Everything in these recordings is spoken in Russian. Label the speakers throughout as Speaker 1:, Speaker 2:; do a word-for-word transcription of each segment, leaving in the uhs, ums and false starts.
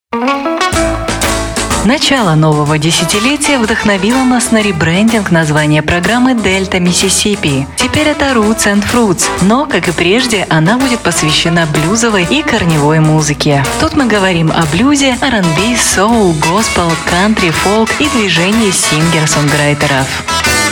Speaker 1: Начало нового десятилетия вдохновило нас на ребрендинг названия программы «Дельта Миссисипи». Теперь это Roots and Fruits, но, как и прежде, она будет посвящена блюзовой и корневой музыке. Тут мы говорим о блюзе, ар энд би, соул, госпел, кантри, фолк и движении сингер-сонграйтеров.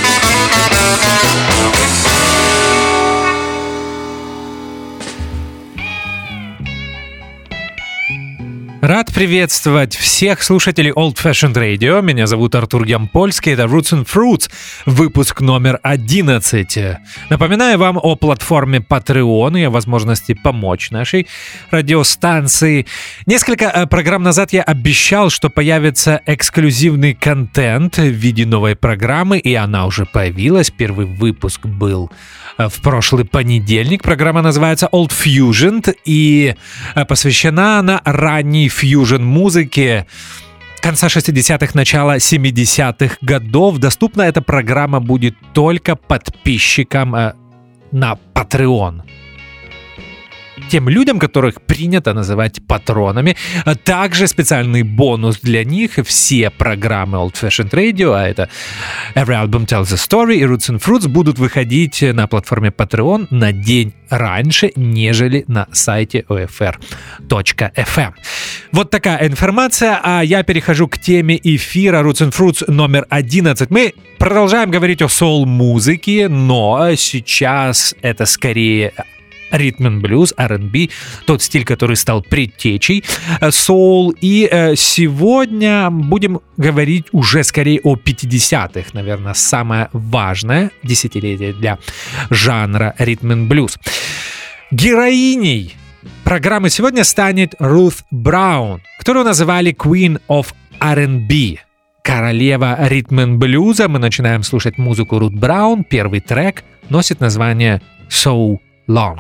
Speaker 2: Рад приветствовать всех слушателей Old Fashioned Radio. Меня зовут Артур Ямпольский. Это Roots and Fruits, выпуск номер одиннадцать. Напоминаю вам о платформе Patreon и о возможности помочь нашей радиостанции. Несколько программ назад я обещал, что появится эксклюзивный контент в виде новой программы, и она уже появилась. Первый выпуск был в прошлый понедельник. Программа называется Old Fusion, и посвящена она ранней фьюжн-музыке конца шестидесятых, начала семидесятых годов. Доступна эта программа будет только подписчикам э, на Patreon. Тем людям, которых принято называть патронами. Также специальный бонус для них. Все программы Old Fashioned Radio, а это Every Album Tells a Story и Roots and Fruits, будут выходить на платформе Patreon на день раньше, нежели на сайте о эф эр точка эф эм. Вот такая информация, а я перехожу к теме эфира Roots and Fruits номер одиннадцать. Мы продолжаем говорить о соул-музыке, но сейчас это скорее ритм-н-блюз, ар энд би, тот стиль, который стал предтечей соул. И э, сегодня будем говорить уже скорее о пятидесятых, наверное, самое важное десятилетие для жанра ритм-н-блюз. Героиней программы сегодня станет Рут Браун, которую называли Queen of ар энд би. Королева ритм-н-блюза. Мы начинаем слушать музыку Рут Браун. Первый трек носит название So Long.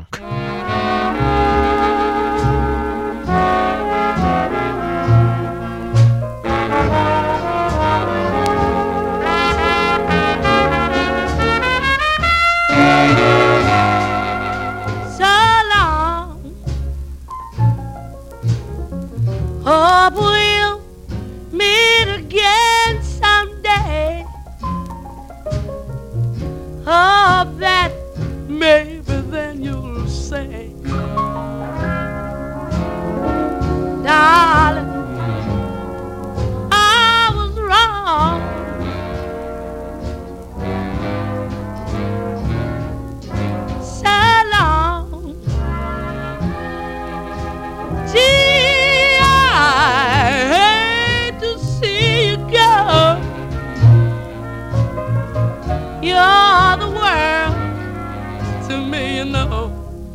Speaker 3: Hope we'll meet again someday. Hope that maybe then you'll say, darling, I was wrong. So long. Gee, I hate to see you go. You're the world to me, you know.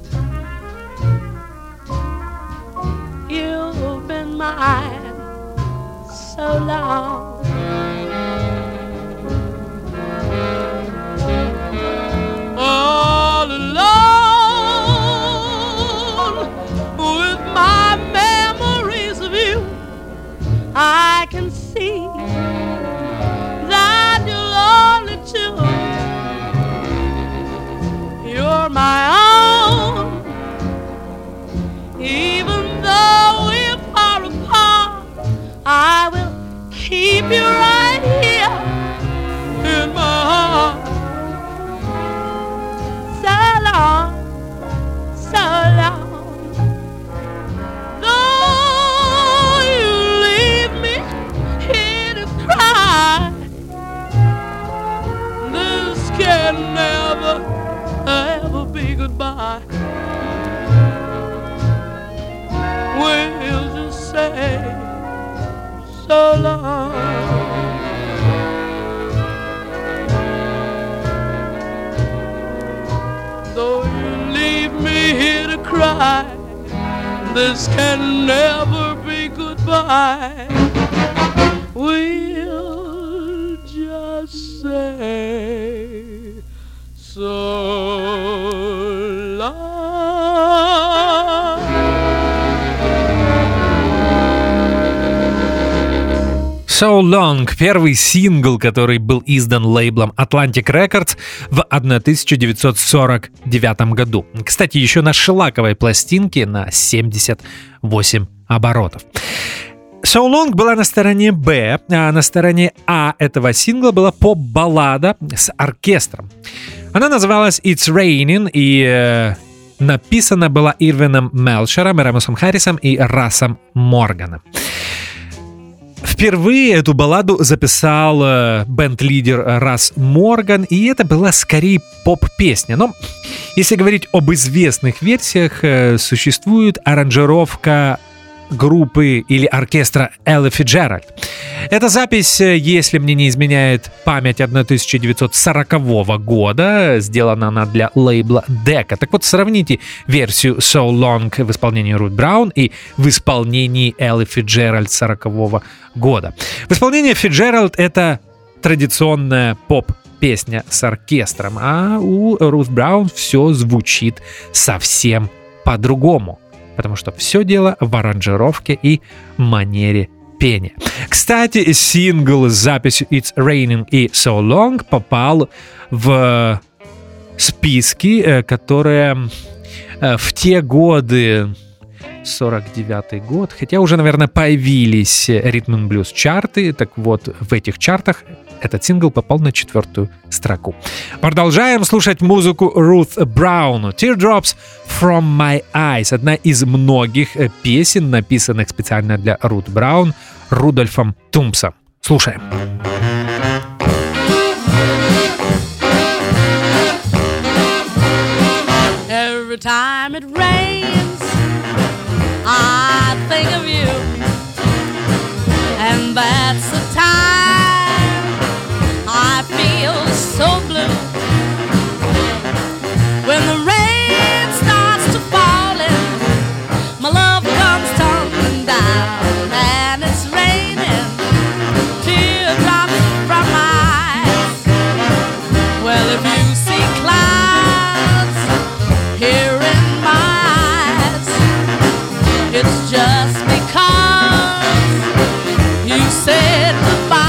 Speaker 3: You've been mine so long. All alone with my memories of you, I can see that you're only two. You're my own, even though we're far apart. I will keep you right here in my heart. So long, so long. Though you leave me here to cry, this can never ever be goodbye. We'll just say so long. Though you leave me here to cry, this can never be goodbye. We'll just say so long.
Speaker 2: So Long — первый сингл, который был издан лейблом Atlantic Records в тысяча девятьсот сорок девятом году. Кстати, еще на шелаковой пластинке на семьдесят восемь оборотов. So Long была на стороне Б, а на стороне А этого сингла была поп-баллада с оркестром. Она называлась It's Raining и э, написана была Ирвином Мелшером, Рамосом Харрисом и Расом Морганом. Впервые эту балладу записал э, бенд-лидер Рас Морган, и это была скорее поп-песня. Но если говорить об известных версиях, э, существует аранжировка группы или оркестра Элла Фицджеральд. Эта запись, если мне не изменяет память, тысяча девятьсот сорокового года, сделана она для лейбла Decca. Так вот, сравните версию So Long в исполнении Рут Браун и в исполнении Эллы Фицджеральд сорокового года. В исполнении Фицджеральд это традиционная поп-песня с оркестром, а у Рут Браун все звучит совсем по-другому. Потому что все дело в аранжировке и манере пения. Кстати, сингл с записью It's Raining и So Long попал в списки, которые в те годы, сорок девятый год, хотя уже, наверное, появились ритм энд блюз чарты, так вот, в этих чартах этот сингл попал на четвертую строку. Продолжаем слушать музыку Рут Браун. Teardrops from My Eyes. Одна из многих песен, написанных специально для Рут Браун Рудольфом Тумпсом. Слушаем.
Speaker 3: Every time it rains, I think of you, and that's the time I feel so blue. When the rain starts to falling, my love comes tumbling down, and it's raining teardrops from my eyes. Well, if you see clouds here in my eyes, it's just because you said goodbye.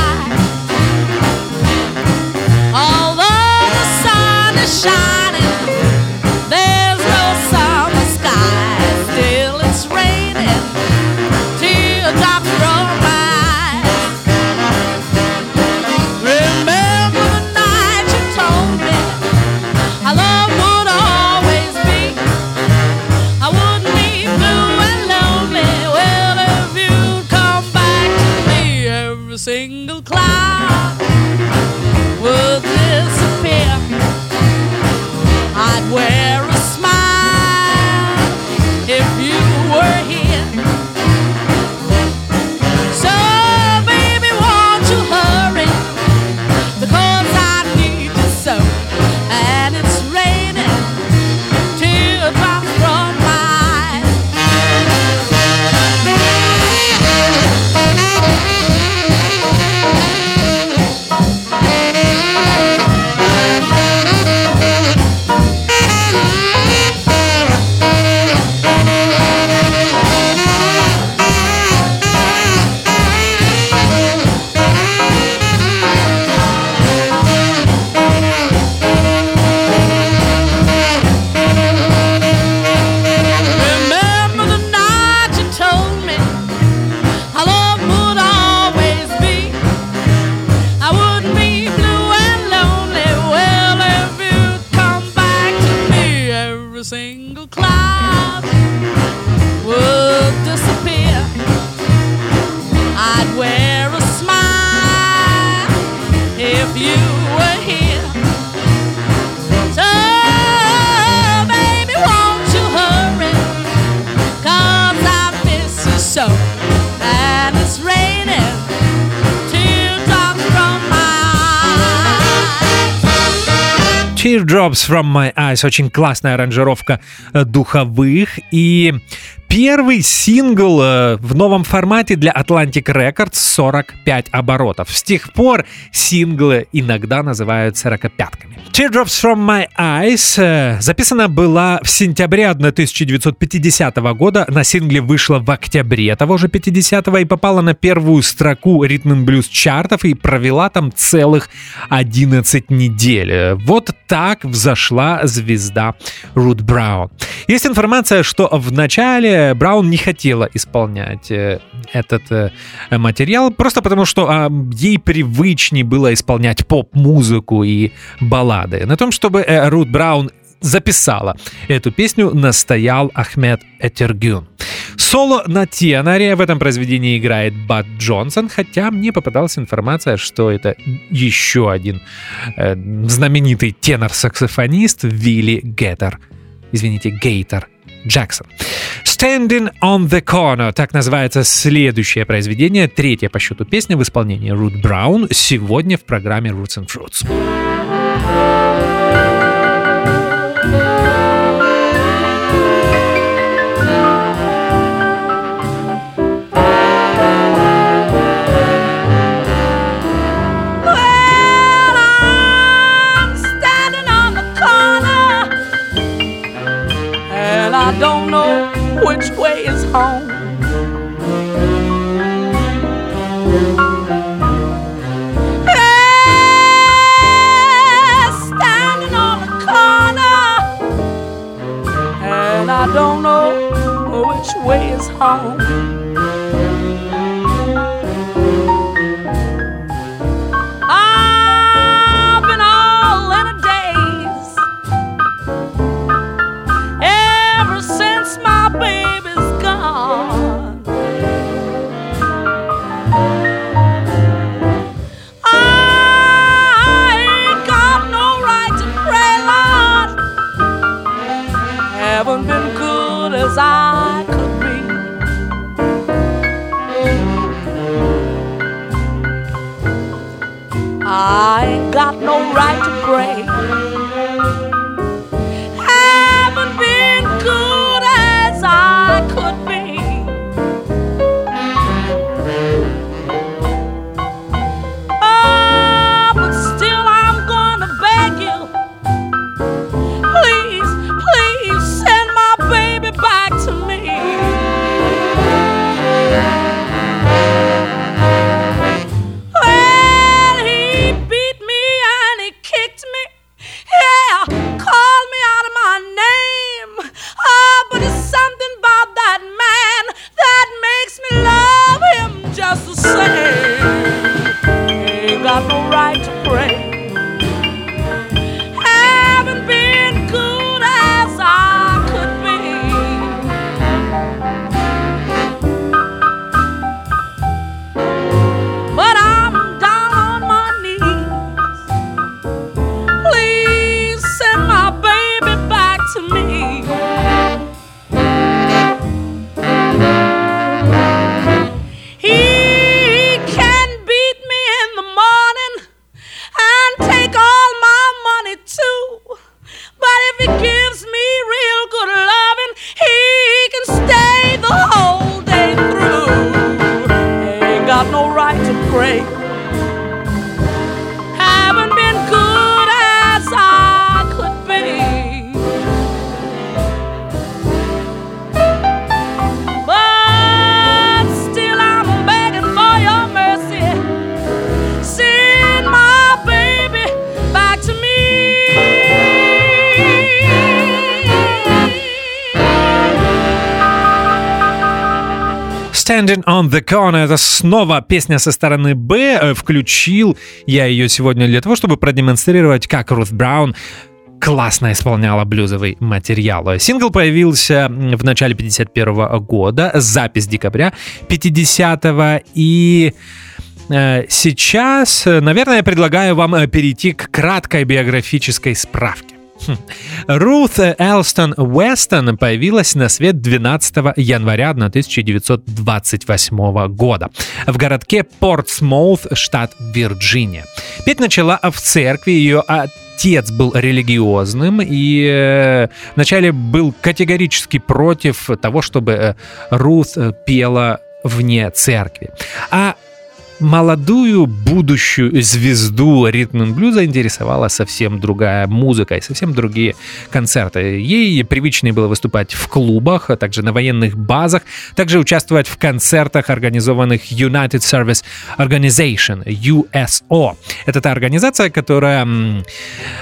Speaker 3: Although the sun is shining, there's no summer sky. Still it's raining teardrops from my eyes. Remember the night you told me our love would always be. I wouldn't be blue and lonely. Well, if you'd come back to me, every single cloud would disappear. I'd wear a smile if you were here. So, baby, won't you hurry? Because I need you so. And it's raining teardrops from my eyes. Remember the night you told me our love would always be. I wouldn't be blue and lonely. Well, if you'd come back to me, every single cloud would disappear. I'd wear a smile if you were here. So, baby, won't you hurry? 'Cause I miss you so. And it's raining teardrops from my eyes.
Speaker 2: Teardrops from My Eyes. Очень классная аранжировка э, духовых. И первый сингл э, в новом формате для Atlantic Records сорок пять оборотов. С тех пор синглы иногда называют сорокопятками. Teardrops from My Eyes э, записана была в сентябре тысяча девятьсот пятидесятого года. На сингле вышла в октябре того же пятидесятого и попала на первую строку ритм энд блюз чартов и провела там целых одиннадцать недель. Вот так взошла звезда Рут Браун. Есть информация, что в начале э, Браун не хотела исполнять э, этот э, материал, просто потому что э, ей привычнее было исполнять поп-музыку и баллады. На том, чтобы э, Рут Браун записала эту песню, настоял Ахмед Этергюн. Соло на теноре в этом произведении играет Бад Джонсон, хотя мне попадалась информация, что это еще один э, знаменитый тенор-саксофонист Вилли Геттер. Извините, Гейтер Джексон. «Standing on the Corner» — так называется следующее произведение, третья по счету песня в исполнении Рут Браун сегодня в программе Roots and Fruits.
Speaker 3: I don't know which way is home. Yeah, standing on the corner, and I don't know which way is home. I've been all in a daze since my baby's gone. I ain't got no right to pray, Lord. Haven't been good as I could be. I ain't got no right to pray. Haven't been good as I could be. Oh, but still I'm gonna beg you, please, please send my baby back to me. Well, he beat me and he kicked me, yeah, called me out of my name. Oh, but it's something about that man that makes me love him just the same. Ain't got no right to pray. Haven't been good as I could be. But I'm down on my knees. Please send my baby back to me. He can beat me in the morning and take all my money too. But if he gives me real good loving, he can stay the whole day through. Ain't got no right to pray. Haven't been good as I could be. But still I'm begging for your mercy. Send my baby back to me.
Speaker 2: «Standing on the Corner» — это снова песня со стороны «Б». Включил я ее сегодня для того, чтобы продемонстрировать, как Рут Браун классно исполняла блюзовый материал. Сингл появился в начале пятьдесят первого года, запись декабря пятидесятого, и э, сейчас, наверное, я предлагаю вам перейти к краткой биографической справке. Рут Элстон Уэстон появилась на свет двенадцатого января тысяча девятьсот двадцать восьмого года в городке Портсмоут, штат Вирджиния. Петь начала в церкви, ее отец был религиозным и э, вначале был категорически против того, чтобы э, Рут пела вне церкви. А молодую будущую звезду ритм-н-блюза интересовала совсем другая музыка и совсем другие концерты. Ей привычнее было выступать в клубах, а также на военных базах, также участвовать в концертах, организованных United Service Organization, ю эс о. Это та организация, которая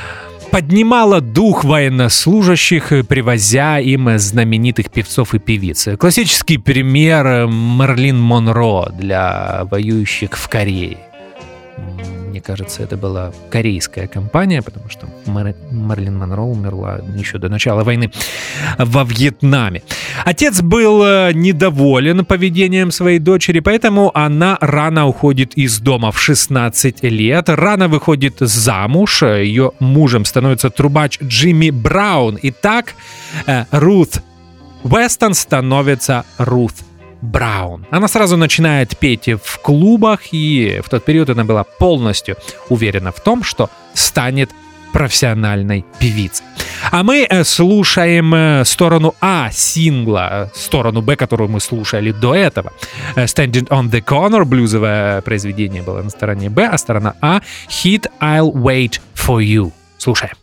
Speaker 2: поднимала дух военнослужащих, привозя им знаменитых певцов и певиц. Классический пример Мерлин Монро для воюющих в Корее. Мне кажется, это была корейская компания, потому что Мэр... Мерлин Монро умерла еще до начала войны во Вьетнаме. Отец был недоволен поведением своей дочери, поэтому она рано уходит из дома в шестнадцать лет, рано выходит замуж, ее мужем становится трубач Джимми Браун. И так Рут Вестон становится Рут Браун. Она сразу начинает петь в клубах, и в тот период она была полностью уверена в том, что станет профессиональной певицей. А мы слушаем сторону А сингла, сторону Б, которую мы слушали до этого. Standing on the Corner, блюзовое произведение было на стороне Б, а сторона А — хит I'll Wait for You. Слушаем.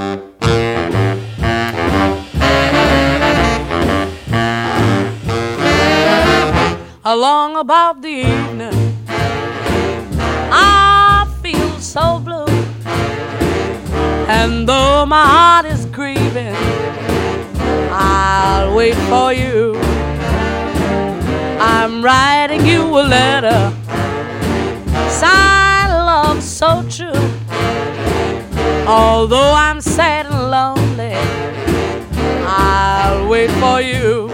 Speaker 3: Along about the evening, I feel so blue, and though my heart is grieving, I'll wait for you. I'm writing you a letter, signed love so true. Although I'm sad and lonely, I'll wait for you.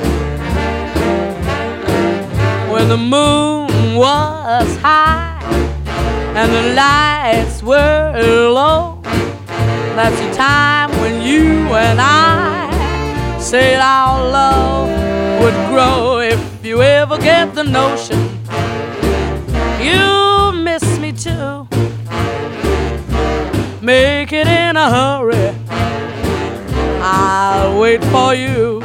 Speaker 3: When the moon was high and the lights were low, that's the time when you and I said our love would grow. If you ever get the notion you miss me too, make it in a hurry, I'll wait for you.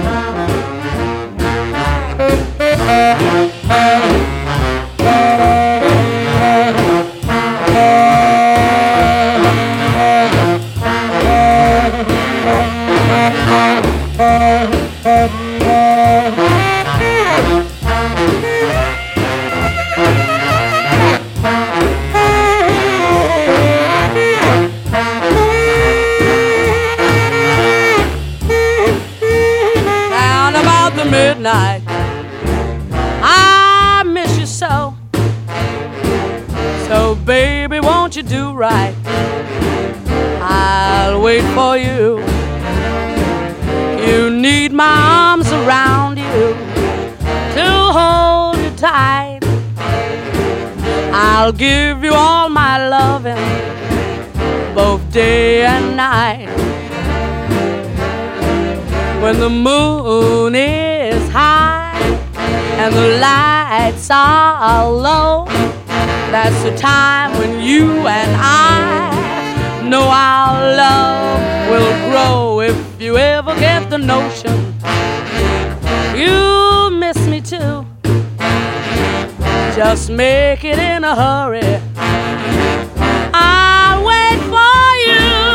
Speaker 3: Down about the midnight, I miss you so. So baby, won't you do right? I'll wait for you. You need my arms around you to hold you tight. I'll give you all my loving, both day and night. When the moon is high and the lights are low, that's the time when you and I know our love will grow. If you ever get the notion you miss me too, just make it in a hurry, I'll wait for you.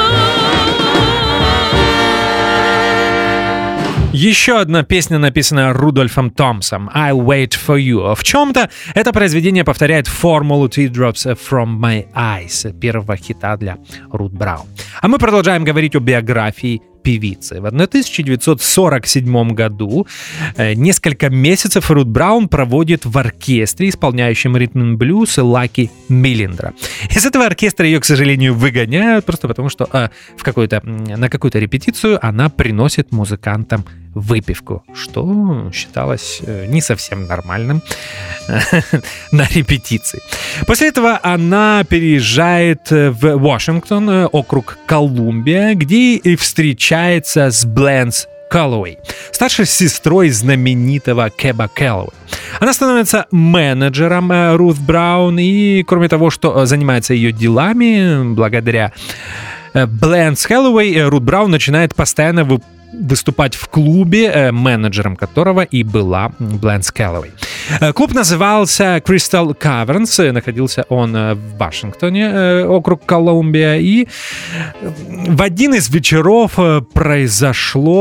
Speaker 2: Еще одна песня, написанная Рудольфом Томпсом, «I'll Wait for You». В чем-то это произведение повторяет формулу «Teardrops from my eyes» первого хита для Рут Браун. А мы продолжаем говорить о биографии певицы. В тысяча девятьсот сорок седьмом году э, несколько месяцев Рут Браун проводит в оркестре, исполняющем ритм-н-блюз Лаки Миллендра. Из этого оркестра ее, к сожалению, выгоняют, просто потому что э, в какой-то, на какую-то репетицию она приносит музыкантам выпивку, что считалось э, не совсем нормальным на репетиции. После этого она переезжает в Вашингтон, округ Колумбия, где и встречается с Бленс Кэллоуэй, старшей сестрой знаменитого Кэба Кэллоуэй. Она становится менеджером Рут Браун и, кроме того, что занимается ее делами, благодаря Бленс Кэллоуэй, Рут Браун начинает постоянно выполнять выступать в клубе, менеджером которого и была Бленс Кэллоуэй. Клуб назывался Crystal Caverns, находился он в Вашингтоне, округ Колумбия, и в один из вечеров произошло то,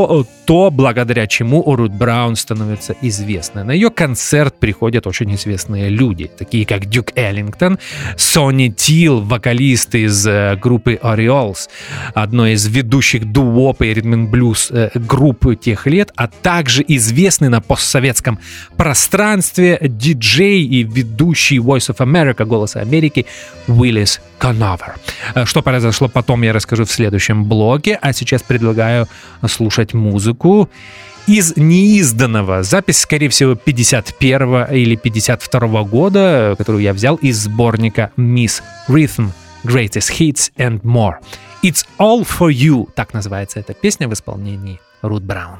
Speaker 2: то, благодаря чему Рут Браун становится известной. На ее концерт приходят очень известные люди, такие как Дюк Эллингтон, Сонни Тил, вокалист из э, группы Orioles, одной из ведущих дуоп и ритм-н-блюз э, группы тех лет, а также известный на постсоветском пространстве диджей и ведущий Voice of America, Голоса Америки, Уиллис Коновер. Что произошло потом, я расскажу в следующем блоке, а сейчас предлагаю слушать музыку из неизданного. Запись, скорее всего, пятьдесят первого или пятьдесят второго года, которую я взял из сборника Miss Rhythm, Greatest Hits and More. It's All For You, так называется эта песня в исполнении Рут Браун.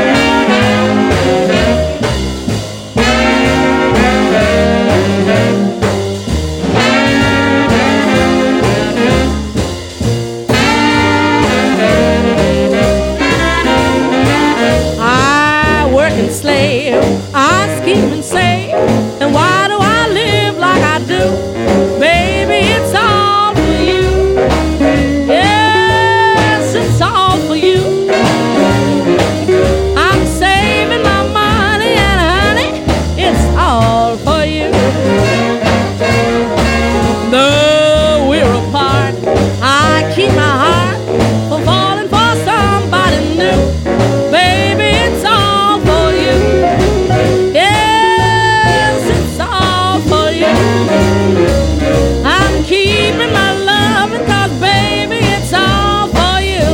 Speaker 3: Slave, I scheme and save, and why do I live like I do? Baby, it's all for you. Yes, it's all for you. I'm saving my money, and honey, it's all for you. Though we're apart, I keep my heart from falling for somebody new. Baby, it's all keeping my loving, 'cause baby, it's all for you.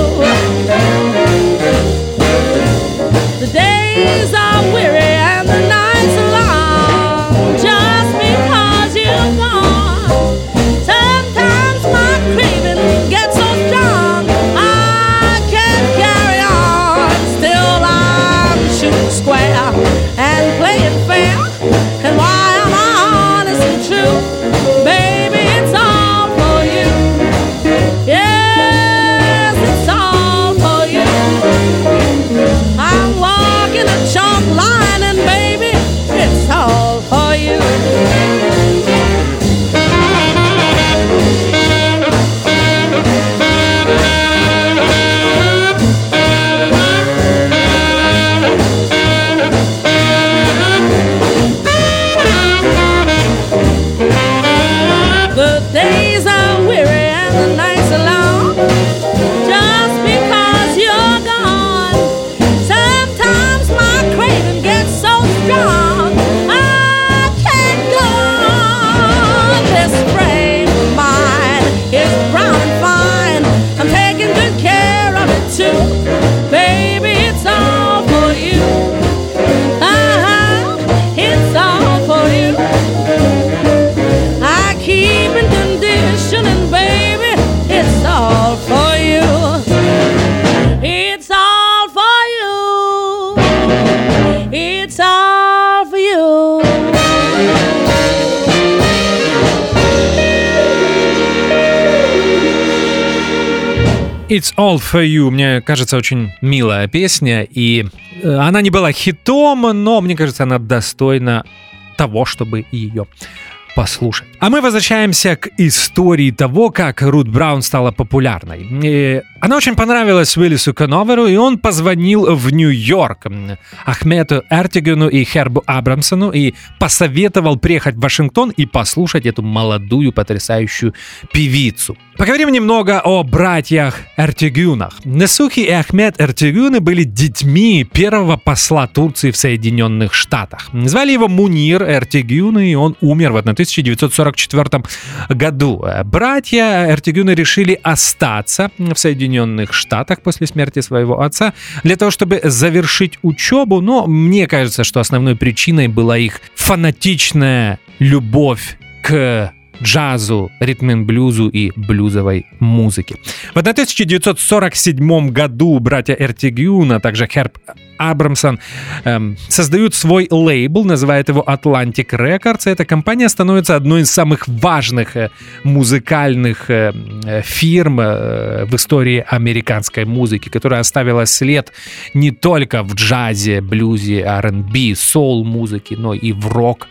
Speaker 3: The days are weary and the nights are long, just because you're gone. Sometimes my craving gets so strong, I can't carry on. Still I'm shooting square and playing fair, and why am I honest and true? Baby, it's all for you. Yes, it's all for you. I'm walking a chalk line, and baby, it's all for you. The days are weary and the nights are long, just because you're gone. Sometimes my craving gets so strong, I can't go on. This frame of mine is brown and fine, I'm taking good care of it too. Baby, it's all for you. Uh-huh, it's all for you. I keep in condition, and baby, it's all for you. It's all for you. It's all for you.
Speaker 2: It's All For You, мне кажется, очень милая песня, и она не была хитом, но мне кажется, она достойна того, чтобы ее послушать. А мы возвращаемся к истории того, как Рут Браун стала популярной. И она очень понравилась Уиллису Коноверу, и он позвонил в Нью-Йорк Ахмету Эртигену и Хербу Абрамсону и посоветовал приехать в Вашингтон и послушать эту молодую потрясающую певицу. Поговорим немного о братьях Эртигюнах. Несухи и Ахмет Эртигюны были детьми первого посла Турции в Соединенных Штатах. Звали его Мунир Эртигюн, и он умер в тысяча девятьсот сорок четвёртом году. Братья Эртигюны решили остаться в Соединенных Штатах после смерти своего отца для того, чтобы завершить учебу, но мне кажется, что основной причиной была их фанатичная любовь к джазу, ритм-н-блюзу и блюзовой музыке. В тысяча девятьсот сорок седьмом году братья Эртигюн, а также Херб Абрамсон эм, создают свой лейбл, называют его Atlantic Records. Эта компания становится одной из самых важных э, музыкальных э, фирм э, в истории американской музыки, которая оставила след не только в джазе, блюзе, ар энд би, соул-музыке, но и в рок,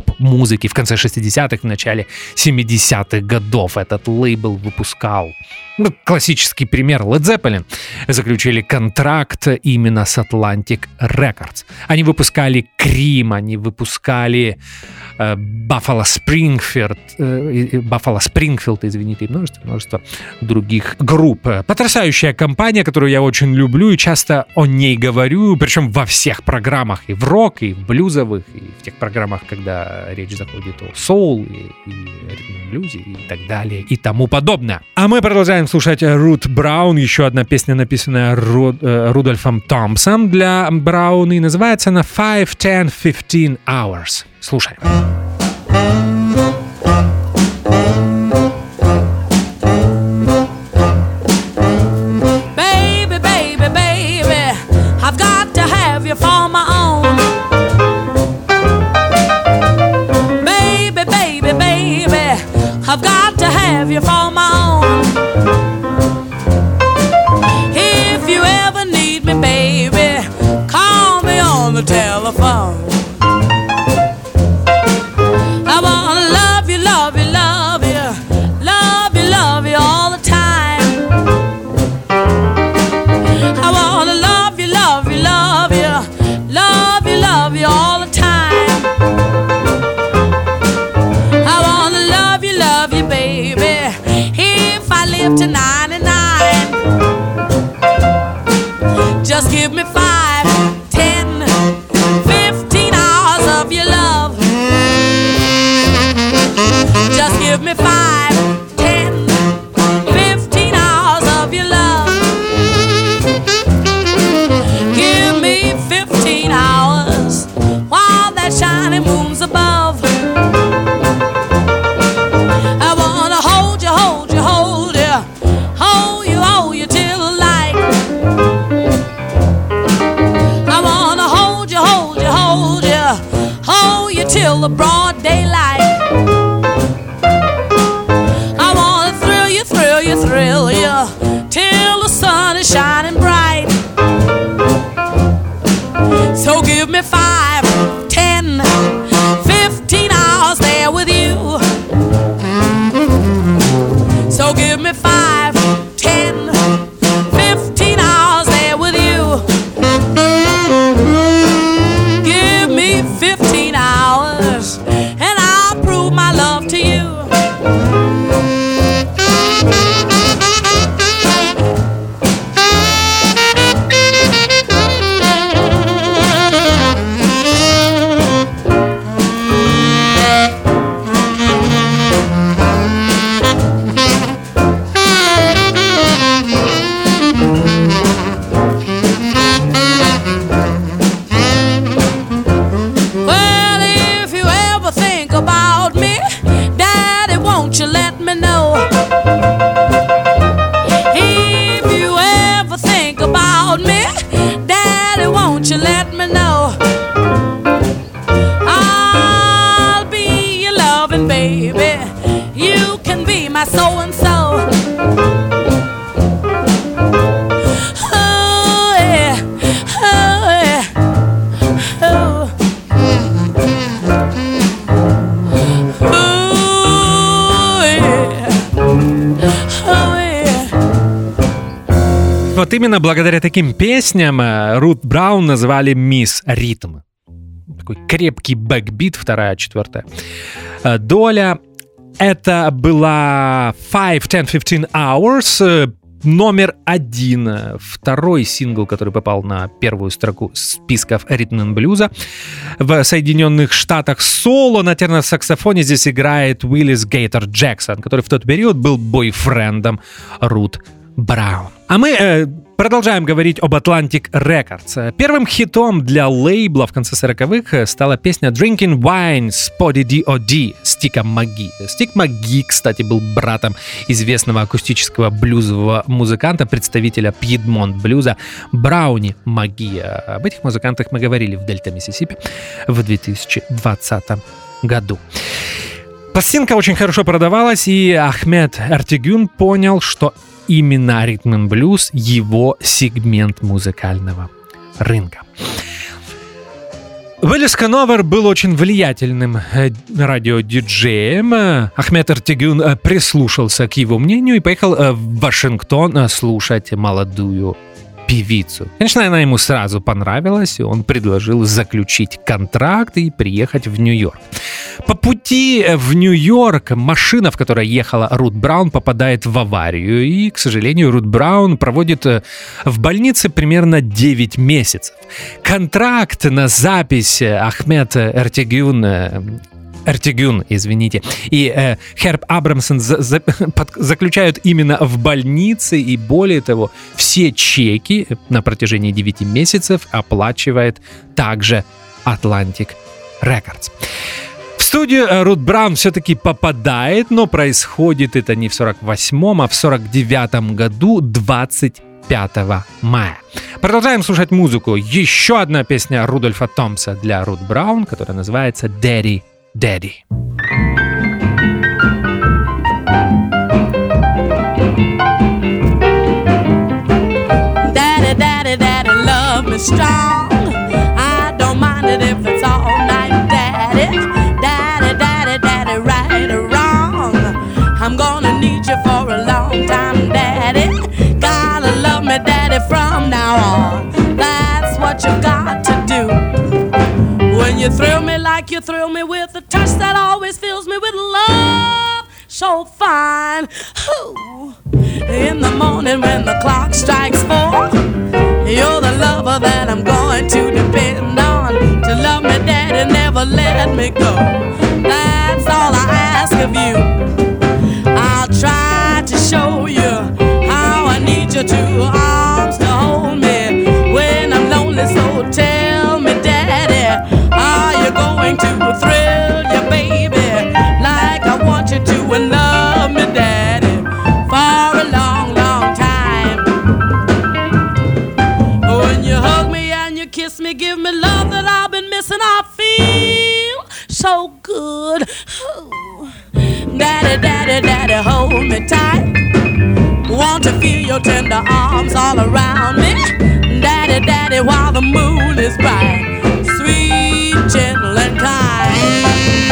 Speaker 2: поп-музыки в конце шестидесятых, в начале семидесятых годов. Этот лейбл выпускал Ну, классический пример. Led Zeppelin заключили контракт именно с Atlantic Records. Они выпускали Cream, они выпускали э, Buffalo Springfield, э, Buffalo Springfield, извините, и множество, множество других групп. Потрясающая компания, которую я очень люблю и часто о ней говорю, причем во всех программах, и в рок, и в блюзовых, и в тех программах, когда речь заходит о соул, и, и ритм блюзе, и так далее, и тому подобное. А мы продолжаем слушать Рут Браун, еще одна песня, написанная Ру, э, Рудольфом Томпсом для Браун, и называется она five, ten, fifteen hours. Слушаем.
Speaker 3: Baby, baby, baby, I've got to have you for my own. Baby, baby, baby, I've got to have you for my own. If you ever need me, baby, call me on the telephone. I wanna love you, love you, love you, love you, love you all the time. I wanna love you, love you, love you, love you, love you all the time. I wanna love you, love you, baby, if I live to ninety-nine. Just give me five, ten, fifteen hours of your love. Just give me five, ten, fifteen hours of your love. Give me fifteen hours while that shining moon's above. I wanna hold you, hold you, hold you, hold you, hold you till the light. I wanna hold you, hold you, hold you, hold you till the broad daylight. I wanna thrill you, thrill you, thrill you till the sun is shining bright. So give me five, ten, fifteen hours there with you. So give me five, ten, fifteen hours there with you. Give me fifteen hours and I'll prove my love to you. Well, if you ever think about me, Daddy, won't you let me know? If you ever think about me, Daddy, won't you let me know? I'll be your loving baby. You can be my so-and-so. Oh, yeah. Oh, yeah. Oh. Oh, yeah. Oh, yeah.
Speaker 2: Вот именно благодаря таким песням э, Рут Браун назвали «Мисс Ритм». Такой крепкий бэкбит, вторая, четвертая э, доля. Это была five, ten, fifteen hours, э, номер один, э, второй сингл, который попал на первую строку списков ритм н блюза в Соединенных Штатах. Соло на терносаксофоне здесь играет Уиллис Гейтер Джексон, который в тот период был бойфрендом Рут Браун. А мы э, продолжаем говорить об Atlantic Records. Первым хитом для лейбла в конце сороковых стала песня Drinking Wine с Poddy ди о ди Стика Маги. Стик Маги, кстати, был братом известного акустического блюзового музыканта, представителя Пьедмонт блюза Брауни Маги. Об этих музыкантах мы говорили в Дельта Миссисипи в две тысячи двадцатом году. Пластинка очень хорошо продавалась, и Ахмед Эртегюн понял, что именно ритм н блюз его сегмент музыкального рынка. Уиллис Коновер был очень влиятельным э, радиодиджеем. Э, Ахмед Эртегюн э, прислушался к его мнению и поехал э, в Вашингтон э, слушать молодую певицу. Конечно, она ему сразу понравилась, и он предложил заключить контракт и приехать в Нью-Йорк. По пути в Нью-Йорк машина, в которой ехала Рут Браун, попадает в аварию, и, к сожалению, Рут Браун проводит в больнице примерно девять месяцев. Контракт на запись Ахмед Эртегюн Эртегюн, извините, и э, Херб Абрамсон за, за, под, заключают именно в больнице, и более того, все чеки на протяжении девяти месяцев оплачивает также Atlantic Records. В студию Рут Браун все-таки попадает, но происходит это не в сорок восьмом, а в сорок девятом году, двадцать пятого мая. Продолжаем слушать музыку. Еще одна песня Рудольфа Томпса для Рут Браун, которая называется «Daddy Daddy».
Speaker 3: Daddy, daddy, daddy, love me strong. I don't mind it if it's all night, daddy. Daddy, daddy, daddy, right or wrong. I'm gonna need you for a long time, daddy. Gotta love me, daddy, from now on. That's what you got to do. When you thrill me like you thrill me with a touch that always fills me with love so fine. Ooh. In the morning when the clock strikes four, you're the lover that I'm going to depend on. To love me, daddy, never let me go. That's all I ask of you. I'll try to show you how I need your two arms to hold me when I'm lonely. So tell me, daddy, are you going to thrill your baby like I want you to, and love me, daddy, for a long, long time? When you hug me and you kiss me, give me love that I've been missing. I feel so good. Ooh. Daddy, daddy, daddy, hold me tight. Want to feel your tender arms all around me. Daddy, daddy, while the moon is bright, sweet, gentle, and kind.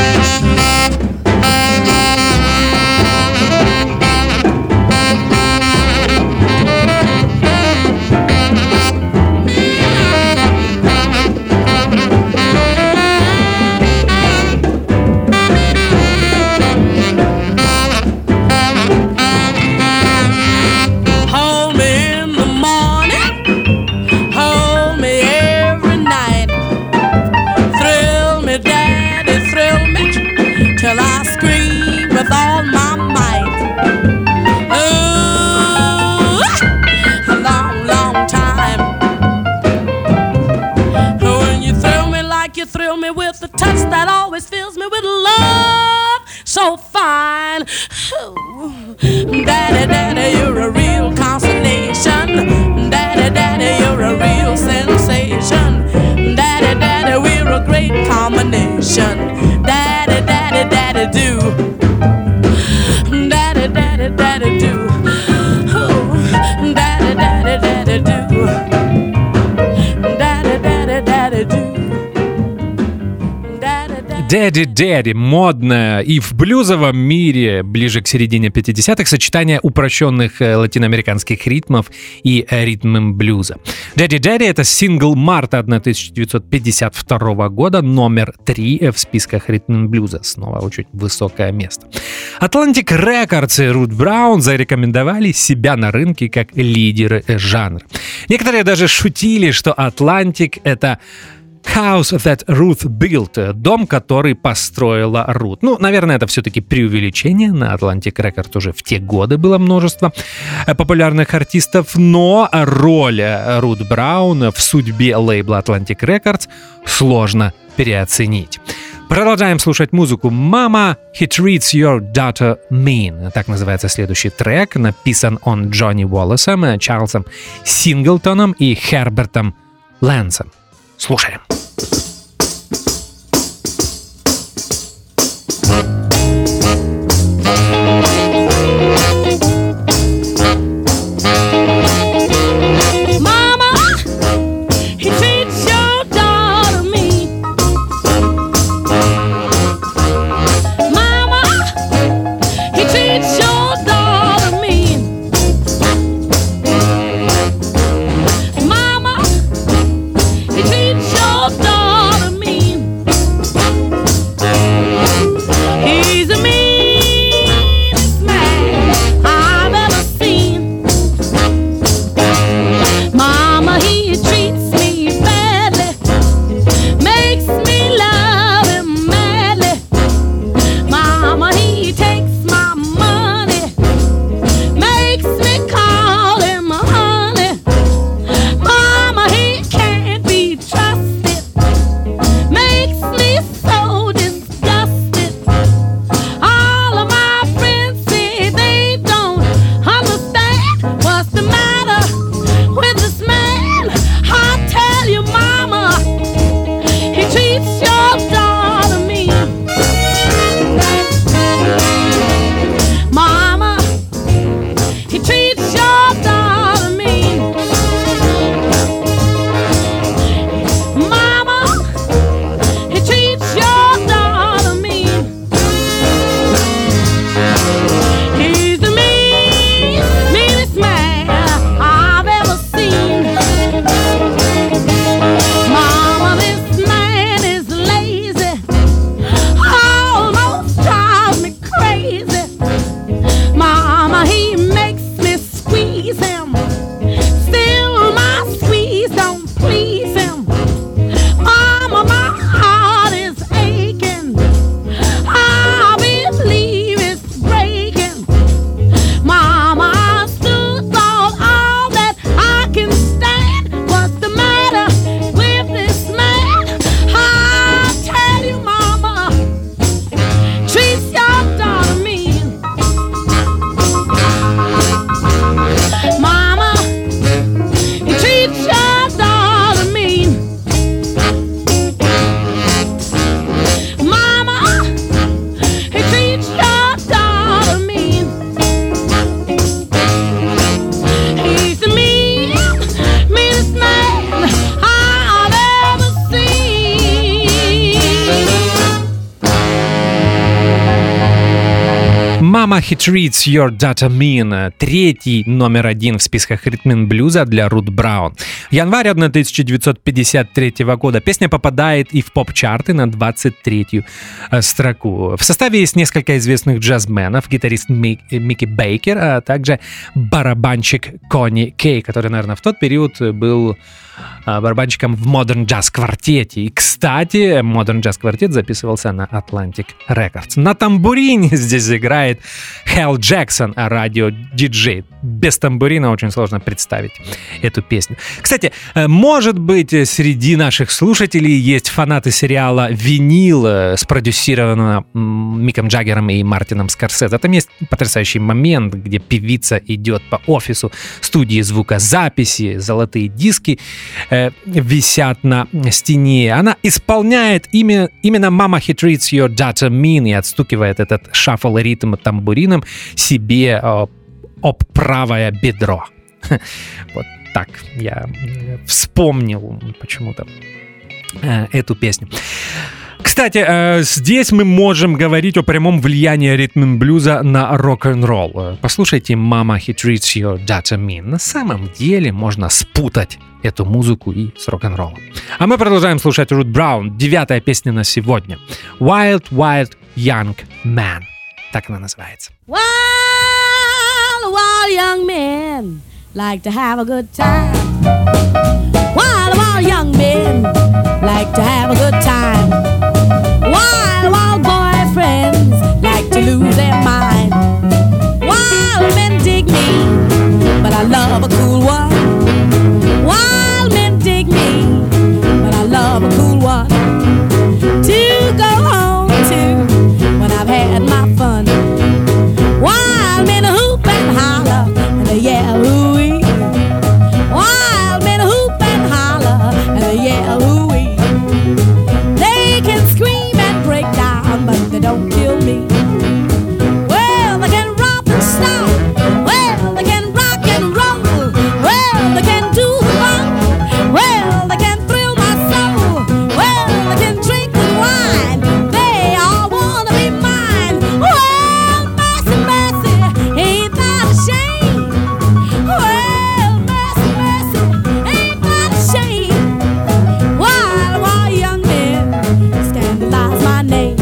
Speaker 3: Hold me in the morning, hold me every night. Thrill me, daddy, thrill me, till I scream with all my might. Ooh, a long, long time. When you thrill me like you thrill me with the touch that always fills me with love so fine. Ooh, daddy, daddy, you're a real consolation. Daddy, daddy, you're a real sensation. Daddy, daddy, we're a great combination. Daddy, daddy, daddy, do. Daddy, daddy, daddy, do. Ooh, daddy, daddy, daddy, do. Daddy, daddy, daddy, do.
Speaker 2: Daddy Daddy, модное и в блюзовом мире ближе к середине пятидесятых сочетание упрощенных латиноамериканских ритмов и ритмом блюза. Daddy Daddy — это сингл марта тысяча девятьсот пятьдесят второго года, номер три в списках ритм блюза. Снова очень высокое место. Atlantic Records и Рут Браун зарекомендовали себя на рынке как лидеры жанра. Некоторые даже шутили, что Atlantic — это House that Ruth built, дом, который построила Рут. Ну, наверное, это все-таки преувеличение. На Atlantic Records уже в те годы было множество популярных артистов, но роль Рут Браун в судьбе лейбла Atlantic Records сложно переоценить. Продолжаем слушать музыку. «Mama, he treats your daughter mean». Так называется следующий трек. Написан он Джонни Уоллесом, Чарльзом Синглтоном и Хербертом Лэнсом. Слушаем.
Speaker 3: Mama, he treats your daughter mean.
Speaker 2: Mama He Treats Your Daughter Mean, третий номер один в списках ритм-н-блюза для Рут Браун. В январе тысяча девятьсот пятьдесят третьего года песня попадает и в поп-чарты на двадцать третью строку. В составе есть несколько известных джазменов, гитарист Мик, Микки Бейкер, а также барабанщик Конни Кей, который, наверное, в тот период был барабанщиком в Modern Jazz квартете. И, кстати, Modern Jazz квартет записывался на Atlantic Records. На тамбурине здесь играет Хэл Джексон, радио-диджей. Без тамбурина очень сложно представить эту песню. Кстати, может быть, среди наших слушателей есть фанаты сериала «Винил», спродюсированного Миком Джаггером и Мартином Скорсезе. Там есть потрясающий момент, где певица идет по офису студии звукозаписи, золотые диски э, висят на стене. Она исполняет имя, именно «Mama He Treats Your Daughter Mean» и отстукивает этот шаффл-ритм тамбурином себе э, об правое бедро. Вот так я вспомнил почему-то э, эту песню. Кстати, э, здесь мы можем говорить о прямом влиянии ритм-н-блюза на рок-н-ролл. Послушайте «Mama He Treats Your Daughter Mean». На самом деле можно спутать эту музыку и с рок-н-роллом. А мы продолжаем слушать Рут Браун. Девятая песня на сегодня. «Wild, Wild Young Man». Так она называется.
Speaker 3: Wild, wild young men like to have a good time. Wild, wild young men like to have a good time. Wild, wild boyfriends like to lose their mind. Wild men dig me, but I love a cool one. Wild men dig me, but I love a cool one. To go home to when I've had my fun. Wild men hoop and holler and they yell hoo-wee. Wild men hoop and holler and they yell hoo-wee. They can scream and break down, but they don't kill me. Well, they can romp and stomp. Well, they can rock and roll. Well, they can do the bump. Well, they can thrill my soul. Well, they can drink and wine. They all wanna be mine. Well, mercy, mercy, ain't that a shame? Well, mercy, mercy, ain't that a shame? Wild, wild young men scandalize my name.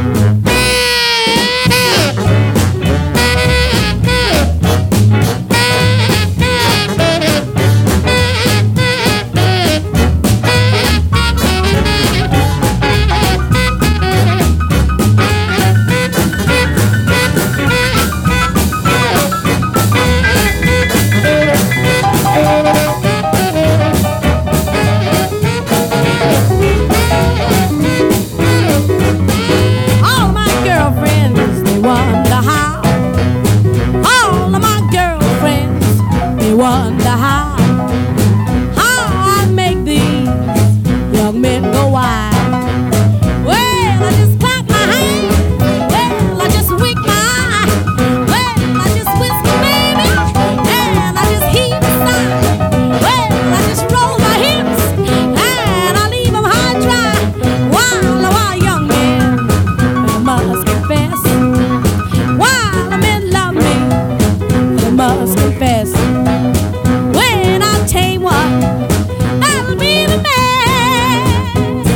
Speaker 3: All of my girlfriends, they wonder how. All of my girlfriends, they wonder how. How I make these young men go wild. Well, I just clap my hands. Well, I just wink my eye. Well, I just whisper, baby. And I just heave a sigh. Well, I just roll my hips. And I leave them high and dry. Wild, wild young men, I must confess. Wild men love me, I must confess. When I tame one, that'll be the best.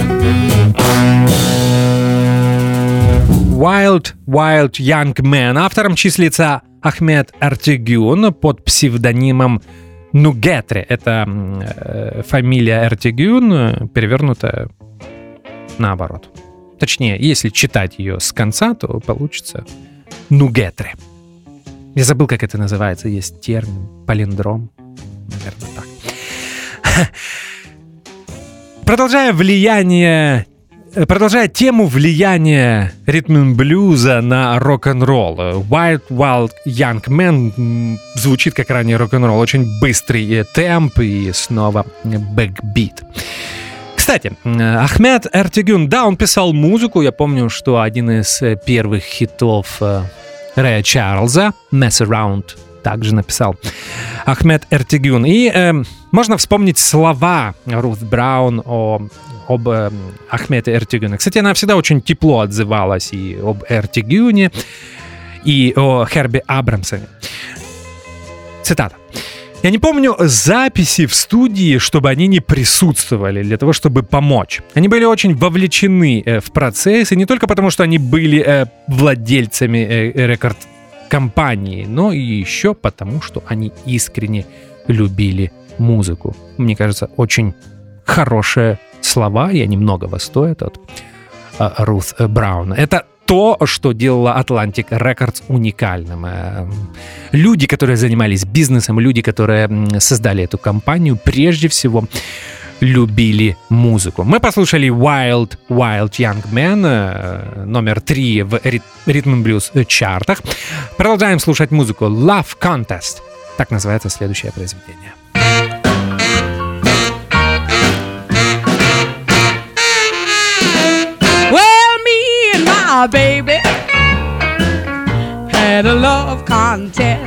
Speaker 2: Wild, Wild Young Man. Автором числится Ахмед Эртегюн под псевдонимом Нугетри. Это э, фамилия Эртегюн, перевернутая наоборот. Точнее, если читать ее с конца, то получится Нугетри. Я забыл, как это называется. Есть термин, палиндром. Наверное, так. Продолжая влияние Продолжая тему влияния ритм-н-блюза на рок-н-ролл, Wild Wild Young Man звучит как ранее рок-н-ролл, очень быстрый темп и снова бэкбит. Кстати, Ахмед Эртегюн, да, он писал музыку, я помню, что один из первых хитов Рэя Чарльза, Mess Around, также написал Ахмед Эртегюн. И э, можно вспомнить слова Рут Браун о об э, Ахмеде Эртегюне. Кстати, она всегда очень тепло отзывалась и об Эртегюне, и о Херби Абрамсоне. Цитата. «Я не помню записи в студии, чтобы они не присутствовали для того, чтобы помочь. Они были очень вовлечены э, в процесс, и не только потому, что они были э, владельцами э, рекорд-компании, но и еще потому, что они искренне любили музыку». Мне кажется, очень хорошие слова, и они многого стоят от э, Рут Брауна. Это то, что делало Atlantic Records уникальным. Люди, которые занимались бизнесом, люди, которые создали эту компанию, прежде всего любили музыку. Мы послушали Wild Wild Young Man, номер три в Rhythm and Blues чартах. Продолжаем слушать музыку. Love Contest. Так называется следующее произведение.
Speaker 3: My baby had a love contest.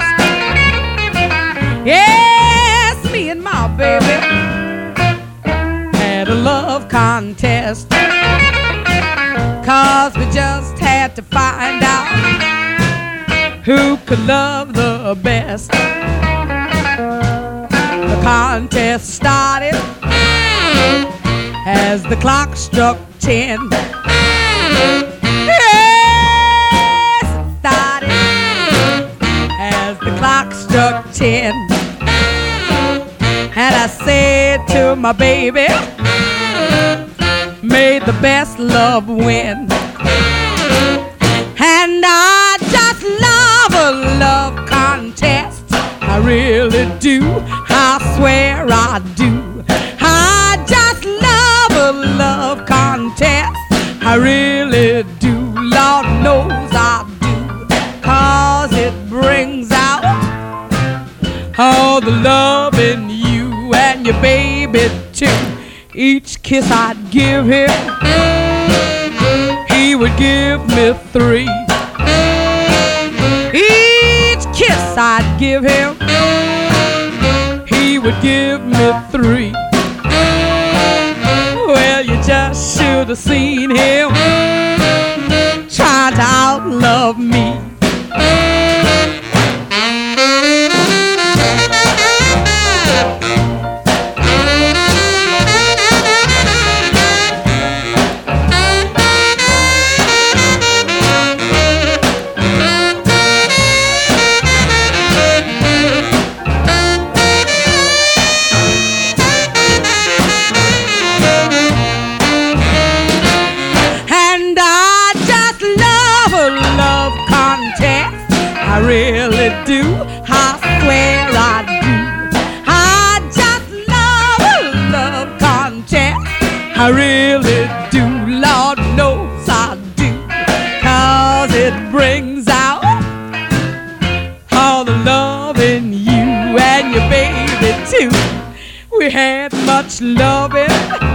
Speaker 3: Yes, me and my baby had a love contest. Cause we just had to find out who could love the best. The contest started as the clock struck ten. Clock struck ten, and I said to my baby, may the best love win. And I just love a love contest, I really do, I swear I do. I just love a love contest, I really do, Lord knows I do, cause it brings out all the love in you and your baby too. Each kiss I'd give him, he would give me three. Each kiss I'd give him, he would give me three. Well, you just should have seen him trying to outlove me. I really do, I swear I do. I just love a love contest, I really do, Lord knows I do. Cause it brings out all the love in you and your baby too. We had much loving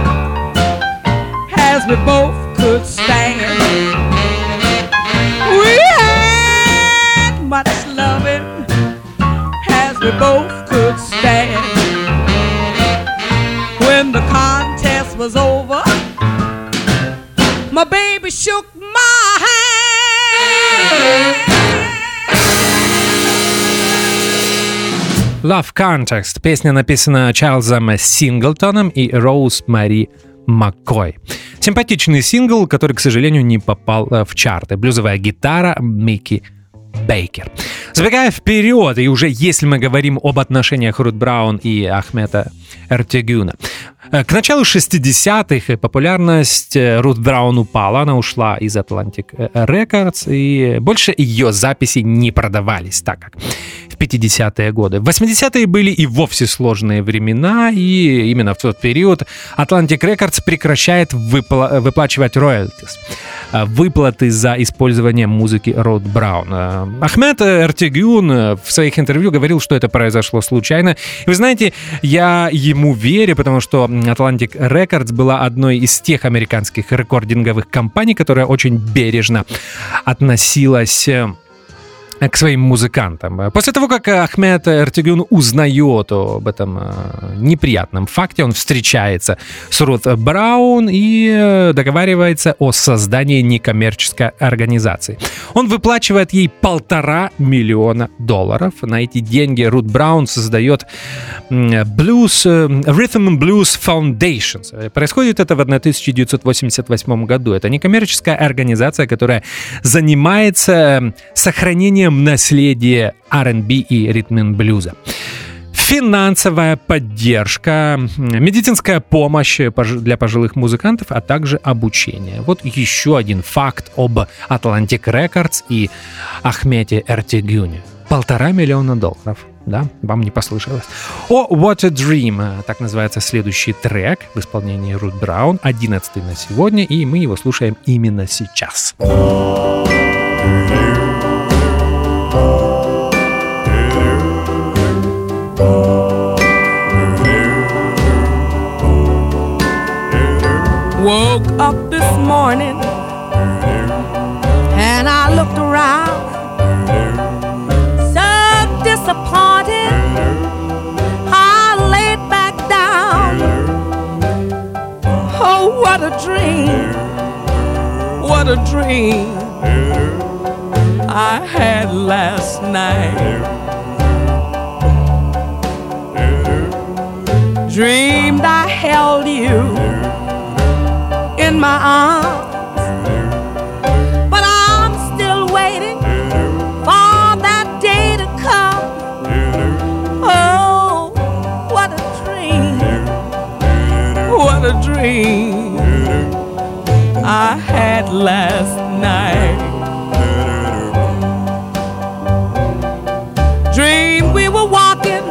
Speaker 3: as we both could stand. We had much loving as we both could stand. When the contest was over, my baby shook my hand.
Speaker 2: Love Contest. Песня написана Чарльзом Синглтоном и Роуз Мари Маккой. Симпатичный сингл, который, к сожалению, не попал в чарты. Блюзовая гитара Микки Бейкер. Забегая вперед, и уже если мы говорим об отношениях Рут Браун и Ахмета Эртегюна, к началу шестидесятых популярность Рут Браун упала, она ушла из Atlantic Records, и больше ее записи не продавались так, как в пятидесятые годы. В восьмидесятые были и вовсе сложные времена, и именно в тот период Atlantic Records прекращает выпла- выплачивать роялтис, выплаты за использование музыки Рут Браун. Ахмет Эртегюн в своих интервью говорил, что это произошло случайно. И вы знаете, я ему верю, потому что Atlantic Records была одной из тех американских рекординговых компаний, которая очень бережно относилась к своим музыкантам. После того, как Ахмед Эртегюн узнает об этом неприятном факте, он встречается с Рут Браун и договаривается о создании некоммерческой организации. Он выплачивает ей полтора миллиона долларов. На эти деньги Рут Браун создает Blues, Rhythm and Blues Foundation. Происходит это в тысяча девятьсот восемьдесят восьмом году. Это некоммерческая организация, которая занимается сохранением наследия ар энд би и ритм-н-блюза. Финансовая поддержка, медицинская помощь для пожилых музыкантов, а также обучение. Вот еще один факт об Atlantic Records и Ахмеде Эртегюне. Полтора миллиона долларов. Да, вам не послышалось. О, What a Dream, так называется следующий трек в исполнении Рут Браун, одиннадцатый на сегодня, и мы его слушаем именно сейчас.
Speaker 3: Woke up this morning and I looked around, so disappointed. I laid back down. Oh, what a dream, what a dream I had last night. Dreamed I held you in my arms, but I'm still waiting for that day to come. Oh, what a dream, what a dream I had last night. Dream we were walking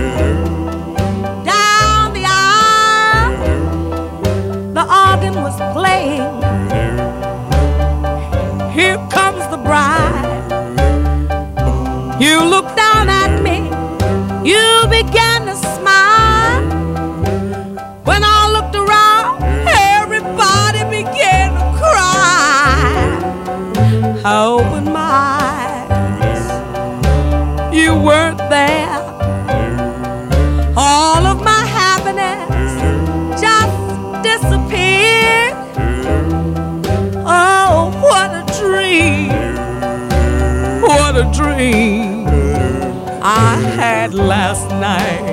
Speaker 3: down the aisle, the organ was playing. Here comes the bride. You looked down at me, you began to smile. When I looked around, everybody began to cry. I opened my eyes, you weren't there. All of my happiness just disappeared. Oh, what a dream, what a dream I had last night.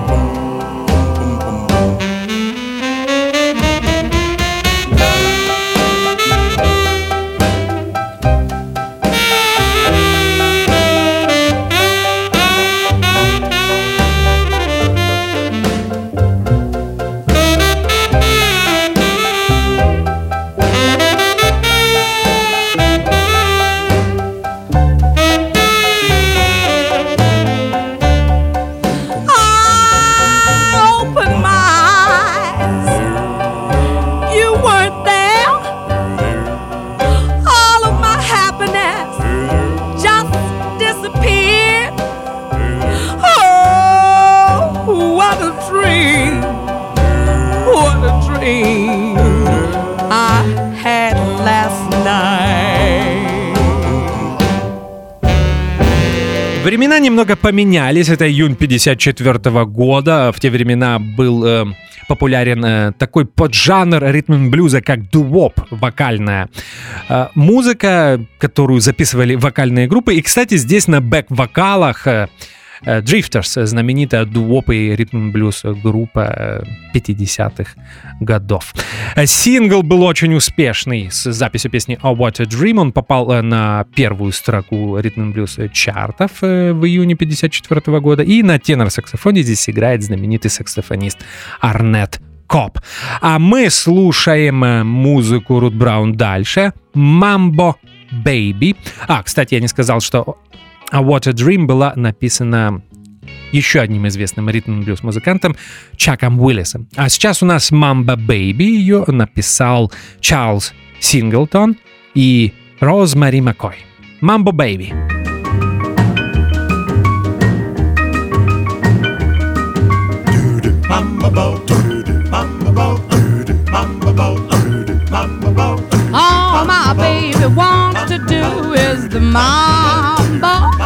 Speaker 2: Времена немного поменялись. Это июнь пятьдесят четвёртого года. В те времена был э, популярен э, такой поджанр ритм-н-блюза, как ду-воп, вокальная э, музыка, которую записывали вокальные группы. И, кстати, здесь на бэк-вокалах э, Drifters, знаменитая ду-воп и ритм-н-блюз группа пятидесятых годов. Сингл был очень успешный с записью песни «Oh, What a Dream». Он попал на первую строку ритм-н-блюз чартов в июне пятьдесят четвёртого года. И на тенор-саксофоне здесь играет знаменитый саксофонист Арнетт Коп. А мы слушаем музыку Рут Браун дальше. «Mambo Baby». А, кстати, я не сказал, что «A What a Dream» была написана еще одним известным ритм-блюз-музыкантом Чаком Уиллисом. А сейчас у нас «Mambo Baby». Ее написал Чарльз Синглтон и Розмари Маккой. «Mambo Baby».
Speaker 3: All my baby wants to do is the mambo.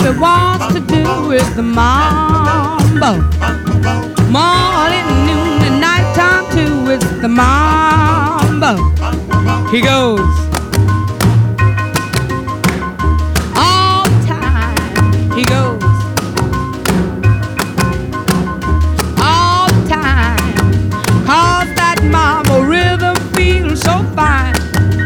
Speaker 3: baby wants to do is the mambo. Morning, noon, and nighttime too, it's the mambo. He goes all the time. He goes all the time. Cause that mambo rhythm feels so fine.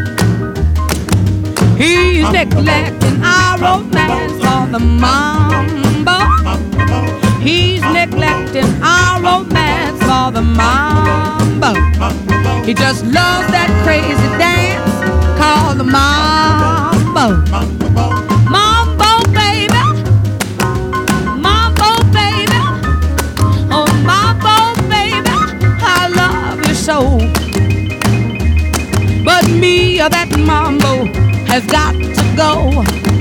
Speaker 3: He's neglecting our romance for the mambo. He's neglecting our romance for the mambo. He just loves that crazy dance called the mambo. Mambo, baby. Mambo, baby. Oh, mambo, baby. I love you so. But me, or that mambo has got to go.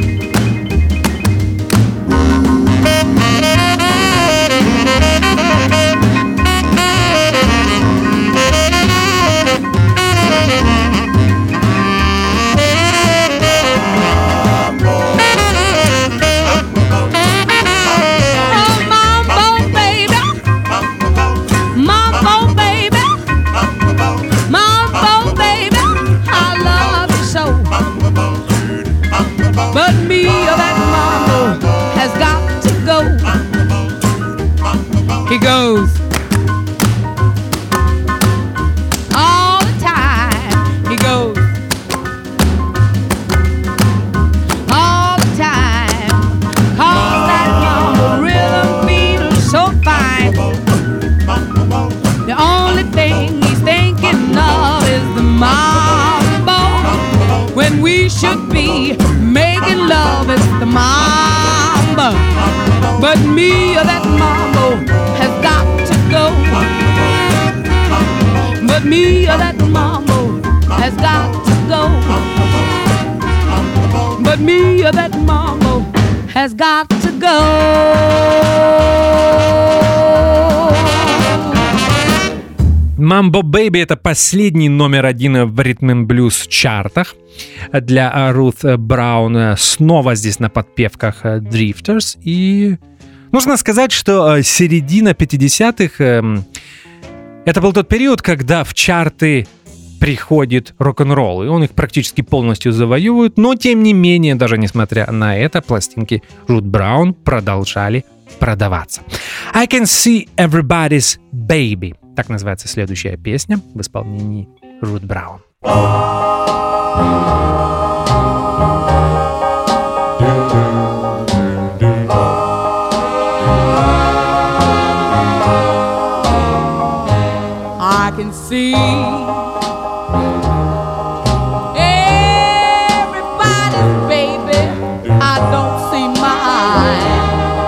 Speaker 3: But me or that mambo has got to go. He goes all the time. He goes all the time. Cause that mambo rhythm feels so fine. The only thing he's thinking of is the mambo. When we should be making love, it's the mambo. But me or that mambo has got to go. But me or that mambo has got to go. But me or that mambo has got to go.
Speaker 2: Mambo Baby — это последний номер один в Rhythm and Blues чартах для Рут Браун. Снова здесь на подпевках Drifters. И нужно сказать, что середина пятидесятых — это был тот период, когда в чарты приходит рок-н-ролл, и он их практически полностью завоевывает. Но, тем не менее, даже несмотря на это, пластинки Рут Браун продолжали продаваться. I Can See Everybody's Baby. Так называется следующая песня в исполнении Рут Браун.
Speaker 3: I can see everybody's baby. I don't see mine.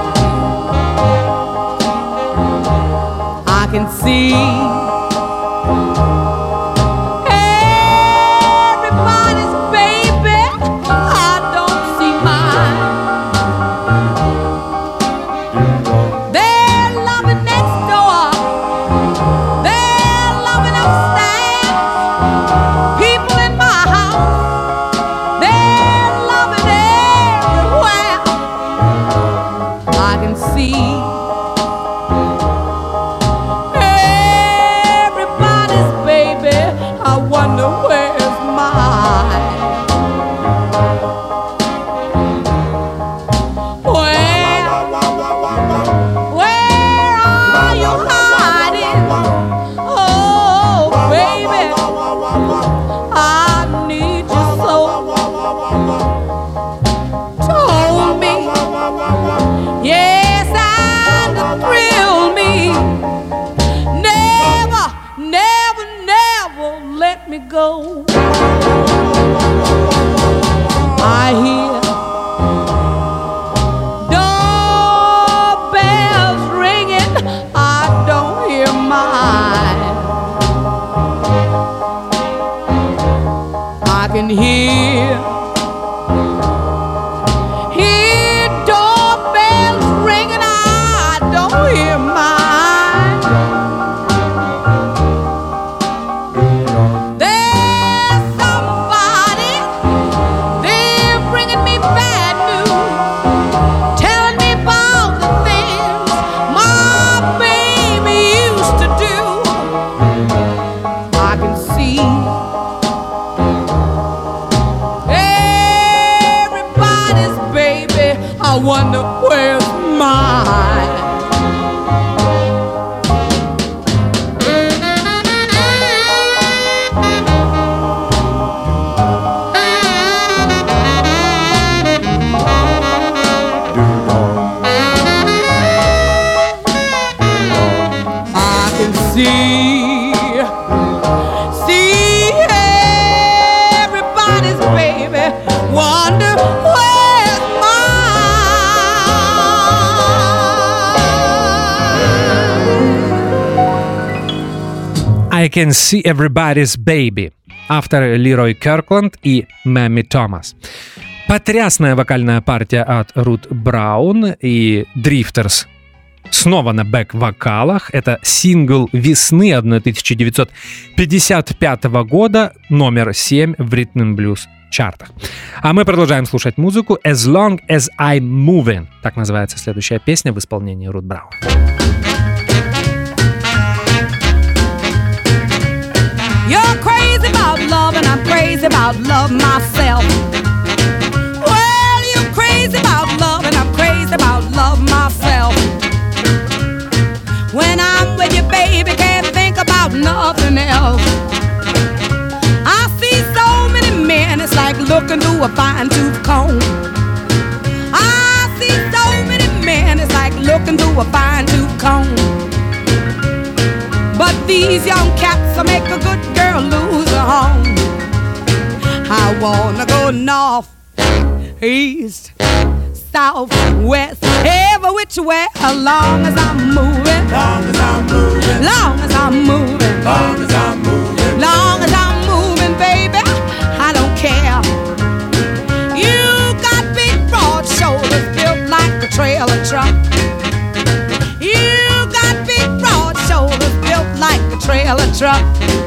Speaker 3: I can see everybody's baby. I don't see mine. They're loving next door. They're loving upstairs. People in my house, they're loving everywhere. I can see go. I hear doorbells ringing. I don't hear mine. I can hear I wonder where's mine. I can see, see everybody's baby. Wonder where's mine.
Speaker 2: I Can See Everybody's Baby. Автор Лерой Киркланд и Мэмми Томас. Потрясная вокальная партия от Рут Браун и Drifters. Снова на бэк-вокалах. Это сингл весны тысяча девятьсот пятьдесят пятого года, номер семь в Rhythm and Blues чартах. А мы продолжаем слушать музыку. As Long As I'm Moving. Так называется следующая песня в исполнении Рут Браун.
Speaker 3: You're crazy about love and I'm crazy about love myself. Well, you're crazy about love and I'm crazy about love myself. When I'm with you, baby, can't think about nothing else. I see so many men, it's like looking through a fine-tooth comb. I see so many men, it's like looking through a fine-tooth comb. But these young cats will make a good girl lose her home. I wanna go north, east, south, west, every which way, as long as I'm moving.
Speaker 4: Long as I'm moving.
Speaker 3: Long as I'm moving.
Speaker 4: Long as I'm moving.
Speaker 3: Long as I'm moving, baby, I don't care. You got big broad shoulders built like a trailer truck. You got big broad shoulders built like a trailer truck.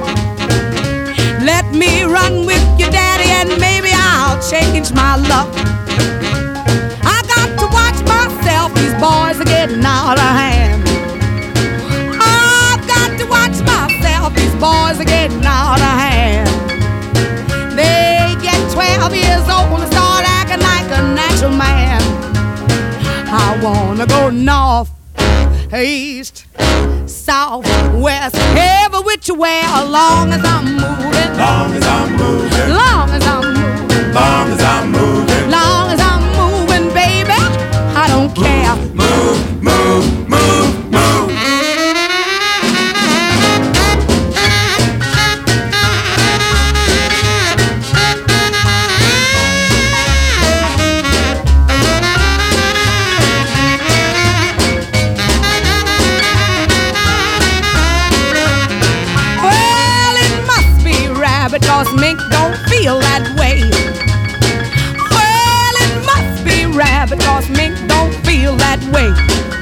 Speaker 3: Let me run with you, daddy, and maybe I'll change my luck. I got to watch myself, these boys are getting out of hand. I've got to watch myself, these boys are getting out of hand. They get twelve years old and start acting like a natural man. I wanna go north, east, south, west, every which way, as long as I'm moving.
Speaker 4: Long as I'm moving.
Speaker 3: Long as I'm moving.
Speaker 4: Long as I'm moving.
Speaker 3: Long as I'm moving, baby, I don't care.
Speaker 4: Move, move, move, move.
Speaker 3: Well, it must be rabbit, 'cause mink don't feel that way. Well, it must be rabbit, 'cause mink don't feel that way.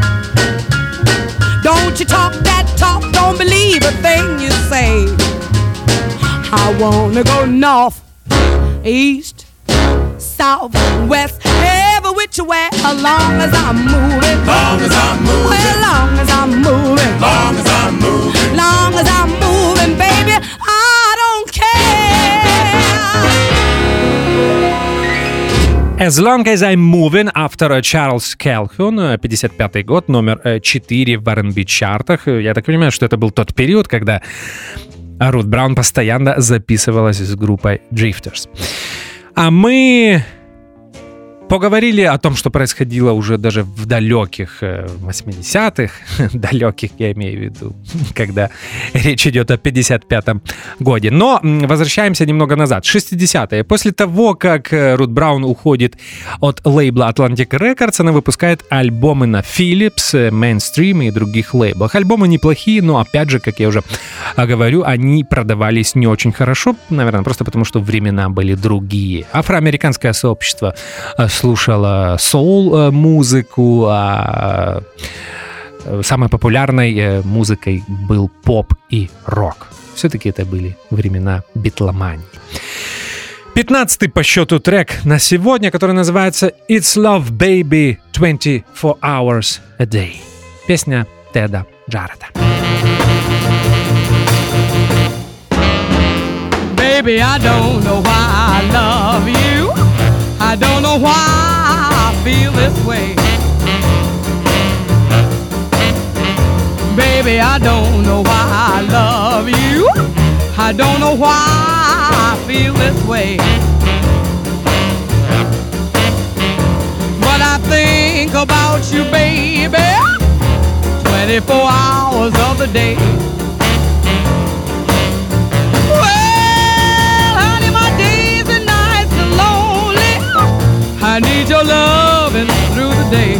Speaker 3: Don't you talk that talk, don't believe a thing you say. I wanna go north, east, south, west, every which way, as long as I'm moving.
Speaker 4: Long as I'm moving.
Speaker 3: Well, long as I'm moving.
Speaker 4: Long as I'm moving.
Speaker 3: Long as I'm moving, baby, I don't care.
Speaker 2: As Long As I'm Moving, автор Чарльз Калхун, пятьдесят пятый год, номер четыре в ар энд би чартах. Я так понимаю, что это был тот период, когда Рут Браун постоянно записывалась с группой Drifters. А мы поговорили о том, что происходило уже даже в далеких восьмидесятых, далеких я имею в виду, когда речь идет о пятьдесят пятом годе. Но возвращаемся немного назад, шестидесятые. После того, как Рут Браун уходит от лейбла Atlantic Records, она выпускает альбомы на Philips, Mainstream и других лейблах. Альбомы неплохие, но опять же, как я уже говорю, они продавались не очень хорошо, наверное, просто потому, что времена были другие. Афроамериканское сообщество слушала соул-музыку, а самой популярной музыкой был поп и рок. Все-таки это были времена битломании. пятнадцатый по счету трек на сегодня, который называется «It's Love, Baby, twenty-four hours a day». Песня Теда Джареда.
Speaker 3: Baby, I don't know why I love you. I don't know why I feel this way. Baby, I don't know why I love you. I don't know why I feel this way. But I think about you, baby, twenty-four hours of the day. Well, honey, my days and nights are lonely. I need your loving through the day.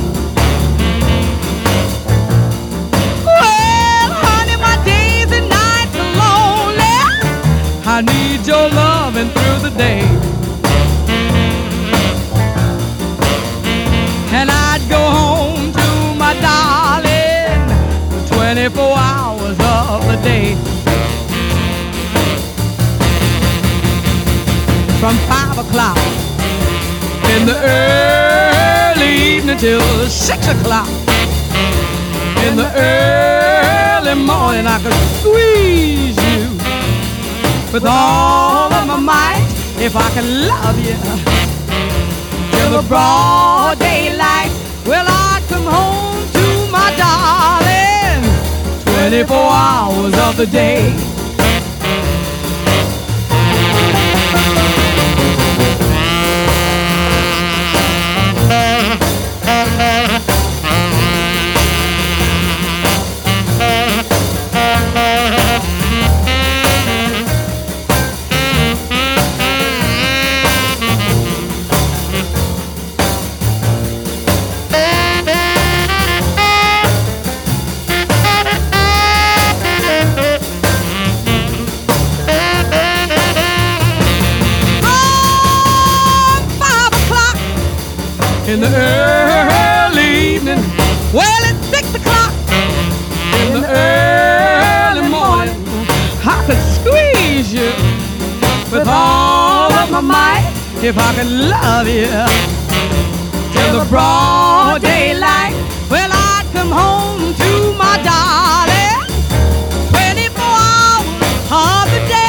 Speaker 3: Well, honey, my days and nights are lonely. I need your loving through the day. And I'd go home to my darling twenty-four hours of the day. From five o'clock in the early evening till six o'clock in the early morning, I could squeeze you with all of my might if I could love you till the broad daylight. Well, I'd come home to my darling twenty-four hours of the day. In the early evening, well, it's six o'clock in the early morning, I could squeeze you with all of my might if I could love you till the broad daylight. Well, I'd come home to my darling twenty-four hours of the day.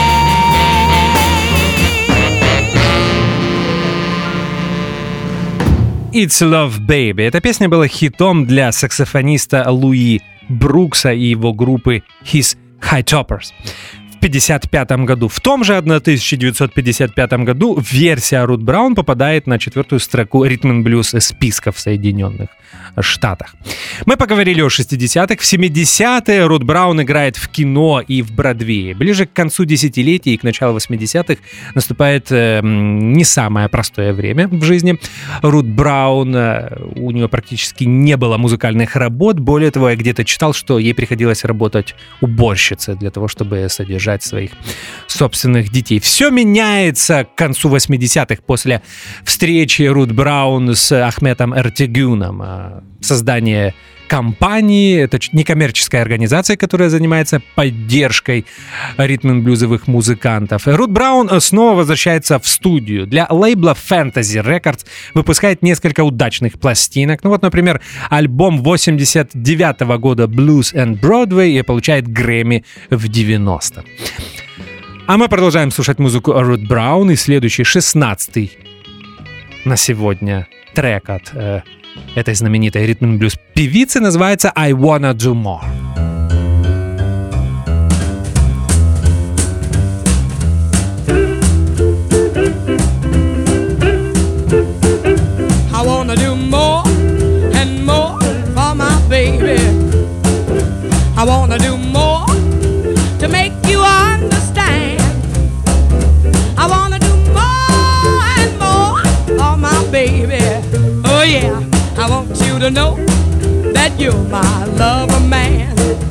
Speaker 2: It's Love Baby. Эта песня была хитом для саксофониста Луи Брукса и его группы His High Toppers в пятьдесят пятом году. В том же тысяча девятьсот пятьдесят пятом году версия Рут Браун попадает на четвертую строку ритм-н-блюз списка в Соединенных Штатах. Мы поговорили о шестидесятых. В семидесятые Рут Браун играет в кино и в Бродвее. Ближе к концу десятилетия и к началу восьмидесятых наступает э, не самое простое время в жизни Рут Браун. Э, у нее практически не было музыкальных работ. Более того, я где-то читал, что ей приходилось работать уборщицей для того, чтобы содержать своих собственных детей. Все меняется к концу восьмидесятых после встречи Рут Браун с Ахметом Эртегюном. Создание компании, это некоммерческая организация, которая занимается поддержкой ритм-н-блюзовых музыкантов. Рут Браун снова возвращается в студию. Для лейбла Fantasy Records выпускает несколько удачных пластинок. Ну вот, например, альбом восемьдесят девятого года Blues and Broadway и получает Грэмми в девяностом. А мы продолжаем слушать музыку Рут Браун, и следующий, шестнадцатый на сегодня трек от э, этой знаменитой ритм-н-блюз певицы называется I Wanna Do More.
Speaker 3: I wanna do more and more for my baby. I wanna do more to make you understand. I wanna do more and more for my baby. Oh yeah, I want you to know that you're my lover man.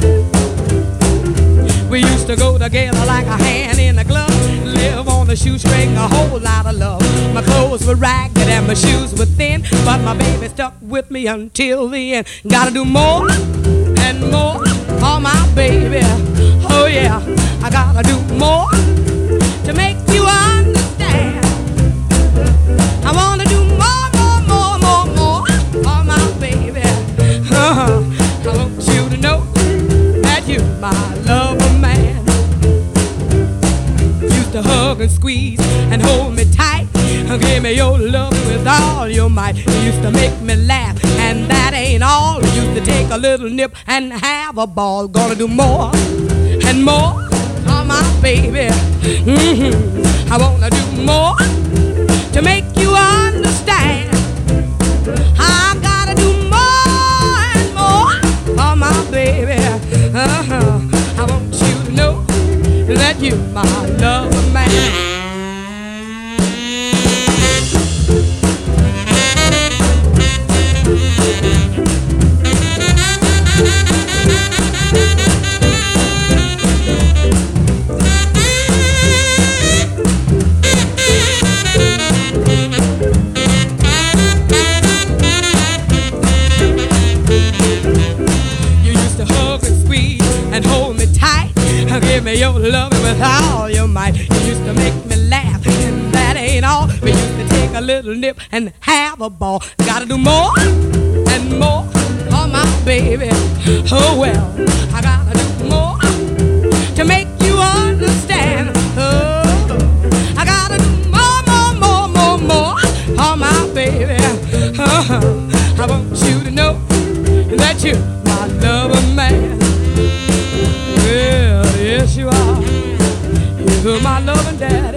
Speaker 3: We used to go together like a hand in a glove, live on the shoestring, a whole lot of love. My clothes were ragged and my shoes were thin, but my baby stuck with me until the end. Gotta do more and more for my baby. Oh yeah, I gotta do more to make you understand. I wanna do more, more, more, more, more for my baby. Uh-huh. I want you to know that you're my lover man. Used to hug and squeeze and hold me tight, give me your love with with all your might. You used to make me laugh, and that ain't all. You used to take a little nip and have a ball. Gonna do more and more, oh my baby. Mm-hmm. I wanna do more to make you understand. I gotta do more and more, oh my baby. Uh-huh. I want you to know that you're my lover man. Give me your loving with all your might. You used to make me laugh, and that ain't all. We used to take a little nip and have a ball. Gotta do more and more, oh my baby. Oh well, I gotta do more to make you understand. Oh, I gotta do more, more, more, more, more, oh my baby. Uh-huh. I want you to know that you're my lover man. Yes, you are. You're my loving daddy.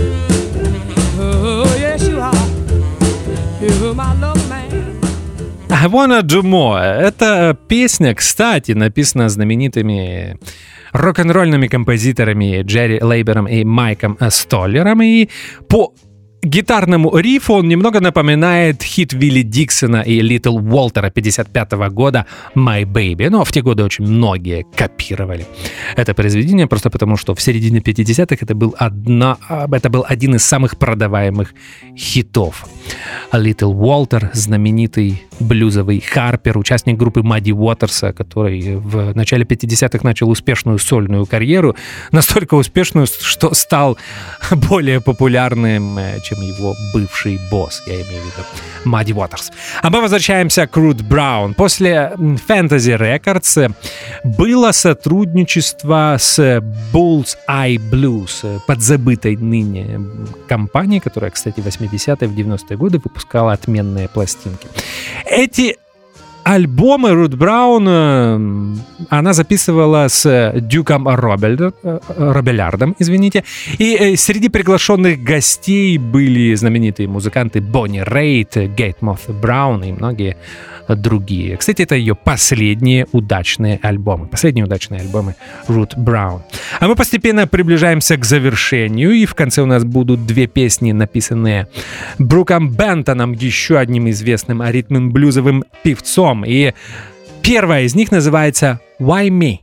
Speaker 3: Oh, yes, you are. You're my loving man.
Speaker 2: I wanna do more. Эта песня, кстати, написана знаменитыми рок-н-ролльными композиторами Джерри Лейбером и Майком Столлером. И по гитарному рифу он немного напоминает хит Вилли Диксона и Литл Уолтера пятьдесят пятого года «My Baby». Но в те годы очень многие копировали это произведение, просто потому что в середине пятидесятых это был, одна, это был один из самых продаваемых хитов. Литл Уолтер, знаменитый блюзовый харпер, участник группы Мадди Уотерса, который в начале пятидесятых начал успешную сольную карьеру, настолько успешную, что стал более популярным, чем его бывший босс, я имею в виду Мадди Уотерс. А мы возвращаемся к Рут Браун. После Fantasy Records было сотрудничество с Bullseye Blues, подзабытой ныне компанией, которая, кстати, в восьмидесятые, в девяностые годы выпускала отменные пластинки. Эти альбомы Рут Браун она записывала с Дюком Робель, Робелярдом, извините, и среди приглашенных гостей были знаменитые музыканты Бонни Рейт, Гейт Моth Браун и многие другие. Кстати, это ее последние удачные альбомы, последние удачные альбомы Рут Браун. А мы постепенно приближаемся к завершению, и в конце у нас будут две песни, написанные Бруком Бентоном, еще одним известным ритм-н-блюзовым певцом. И первая из них называется «Why Me?».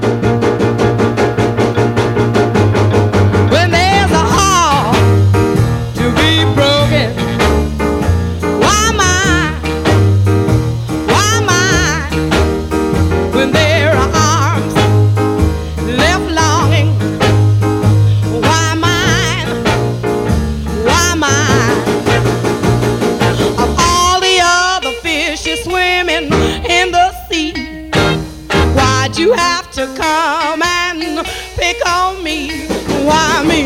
Speaker 3: You have to come and pick on me. Why me?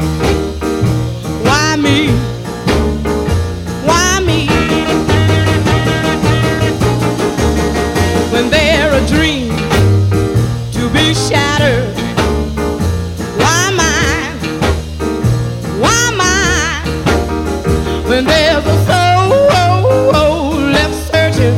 Speaker 3: Why me? Why me? When they're a dream to be shattered. Why mine? Why mine? When there's a soul left searching.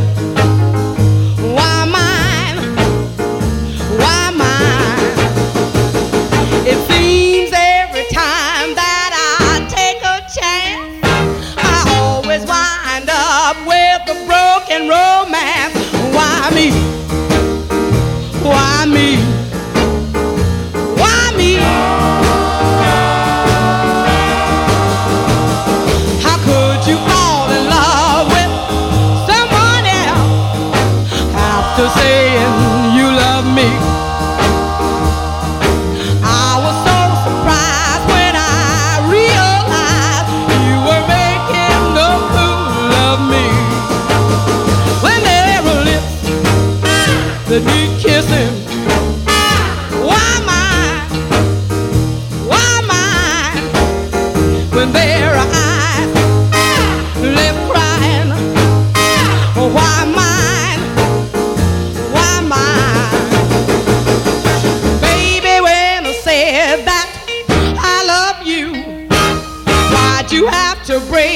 Speaker 3: Why me? Why me? How could you fall in love with someone else after saying you love me? I was so surprised when I realized you were making a fool of me. When there were lips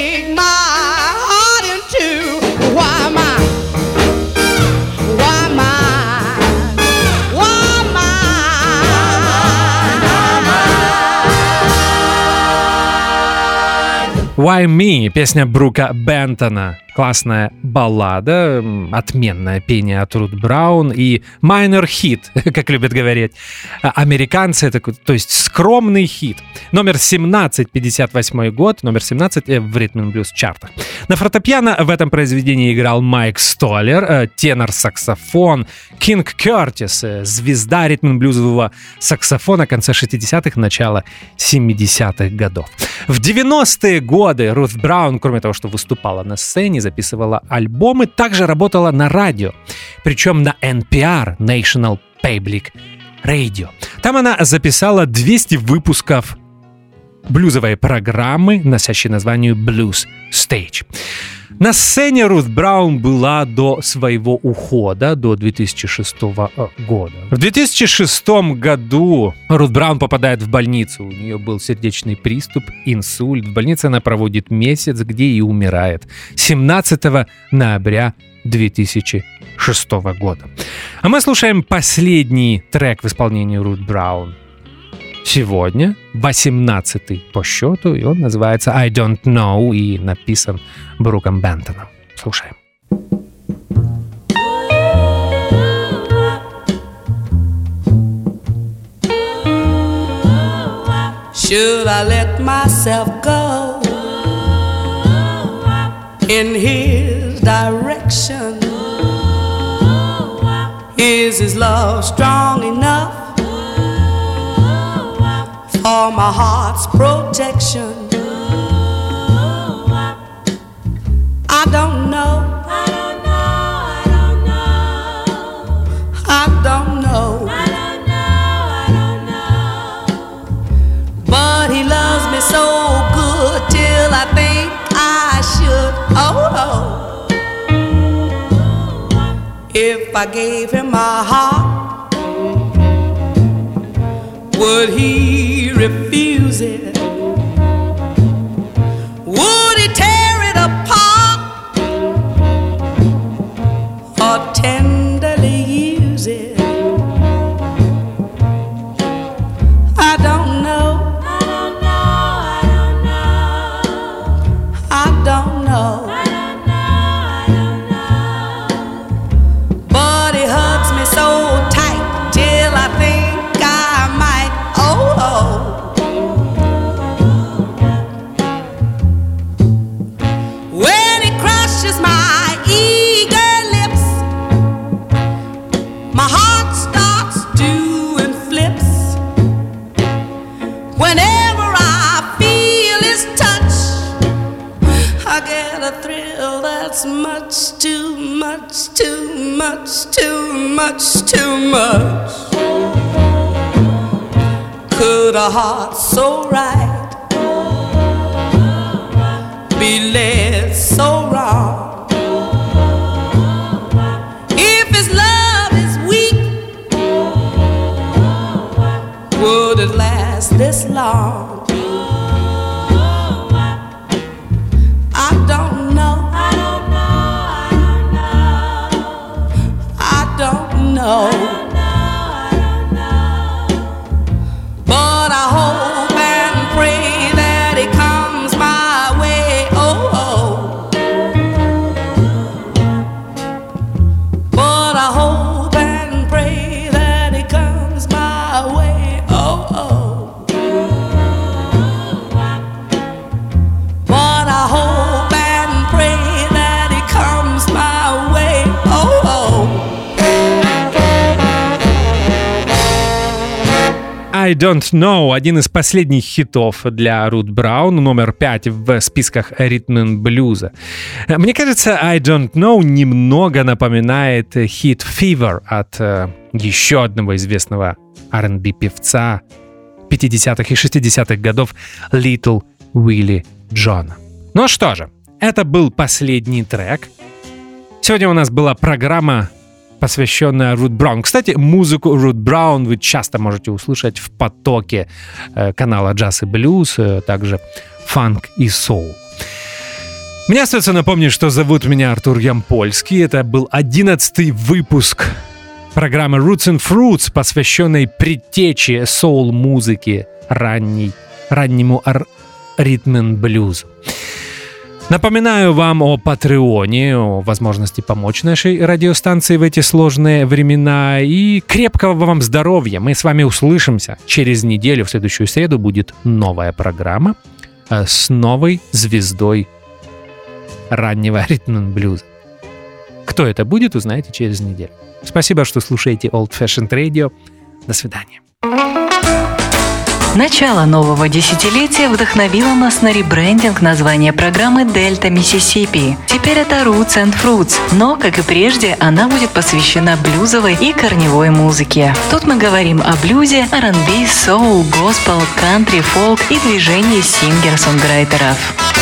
Speaker 3: break my heart in two. Why am I? Why am I? Why am I?
Speaker 2: Why Me, песня Брука Бентона. Классная баллада, м, отменное пение от Рут Браун и minor hit, как любят говорить а, американцы, это, то есть скромный хит. Номер семнадцать, пятьдесят восьмой год, номер семнадцать э, в Rhythm and Blues чартах. На фортепиано в этом произведении играл Майк Столлер, э, тенор-саксофон, Кинг Кертис, э, звезда ритм-н-блюзового саксофона конца шестидесятых, начала семидесятых годов. В девяностые годы Рут Браун, кроме того, что выступала на сцене, записывала альбомы, также работала на радио, причем на эн пи ар, National Public Radio. Там она записала двести выпусков блюзовой программы, носящей название Blues Stage. На сцене Рут Браун была до своего ухода, до две тысячи шестого года. В две тысячи шестом году Рут Браун попадает в больницу. У нее был сердечный приступ, инсульт. В больнице она проводит месяц, где и умирает. семнадцатого ноября две тысячи шестого года. А мы слушаем последний трек в исполнении Рут Браун. Сегодня восемнадцатый по счету, и он называется I Don't Know и написан Бруком Бентоном. Слушаем.
Speaker 3: Should I let myself go in his direction? Is his love strong enough for my heart's protection? I don't know. I don't know. I don't know. I don't know. I don't know. I don't know. But he loves me so good till I think I should. Oh, oh. If I gave him my heart, would he refuse it? Would he tear it apart or tenderly use it? I don't know. I don't know. I don't know. I don't know. I don't know. I don't know. But he hugs me so tight till I think I might. Oh, oh. When he crushes my eager lips, my heart starts doing flips. Whenever I feel his touch, I get a thrill that's much too much, too much, too much, too much. Could a heart so right be led so wrong? If his love is weak, would it last this long? I don't know. I don't know. I don't know. I don't know. But I hope and pray that it comes my way. Oh, oh. But I hope and pray that it comes my way. Oh, oh. But I hope and pray that it comes my way. Oh, oh.
Speaker 2: I Don't Know, один из последних хитов для Рут Браун, номер пять в списках ритм-н-блюза. Мне кажется, I Don't Know немного напоминает хит Fever от э, еще одного известного ар энд би-певца пятидесятых и шестидесятых годов Little Willie John. Ну что же, это был последний трек. Сегодня у нас была программа, посвященная Рут Браун. Кстати, музыку Рут Браун вы часто можете услышать в потоке э, канала Джаз и Блюз, э, также фанк и соул. Мне остается напомнить, что зовут меня Артур Ямпольский. Это был одиннадцатый выпуск программы Roots and Fruits, посвященной предтече соул-музыки, ранней, раннему ар- ритм-н-блюзу. Напоминаю вам о Патреоне, о возможности помочь нашей радиостанции в эти сложные времена. И крепкого вам здоровья. Мы с вами услышимся через неделю. В следующую среду будет новая программа с новой звездой раннего ритм-н-блюза. Кто это будет, узнаете через неделю. Спасибо, что слушаете Old Fashioned Radio. До свидания.
Speaker 1: Начало нового десятилетия вдохновило нас на ребрендинг названия программы «Дельта Миссисипи». Теперь это Roots and Fruits, но, как и прежде, она будет посвящена блюзовой и корневой музыке. Тут мы говорим о блюзе, ар энд би, соул, госпел, кантри, фолк и движении сингер-сонграйтеров.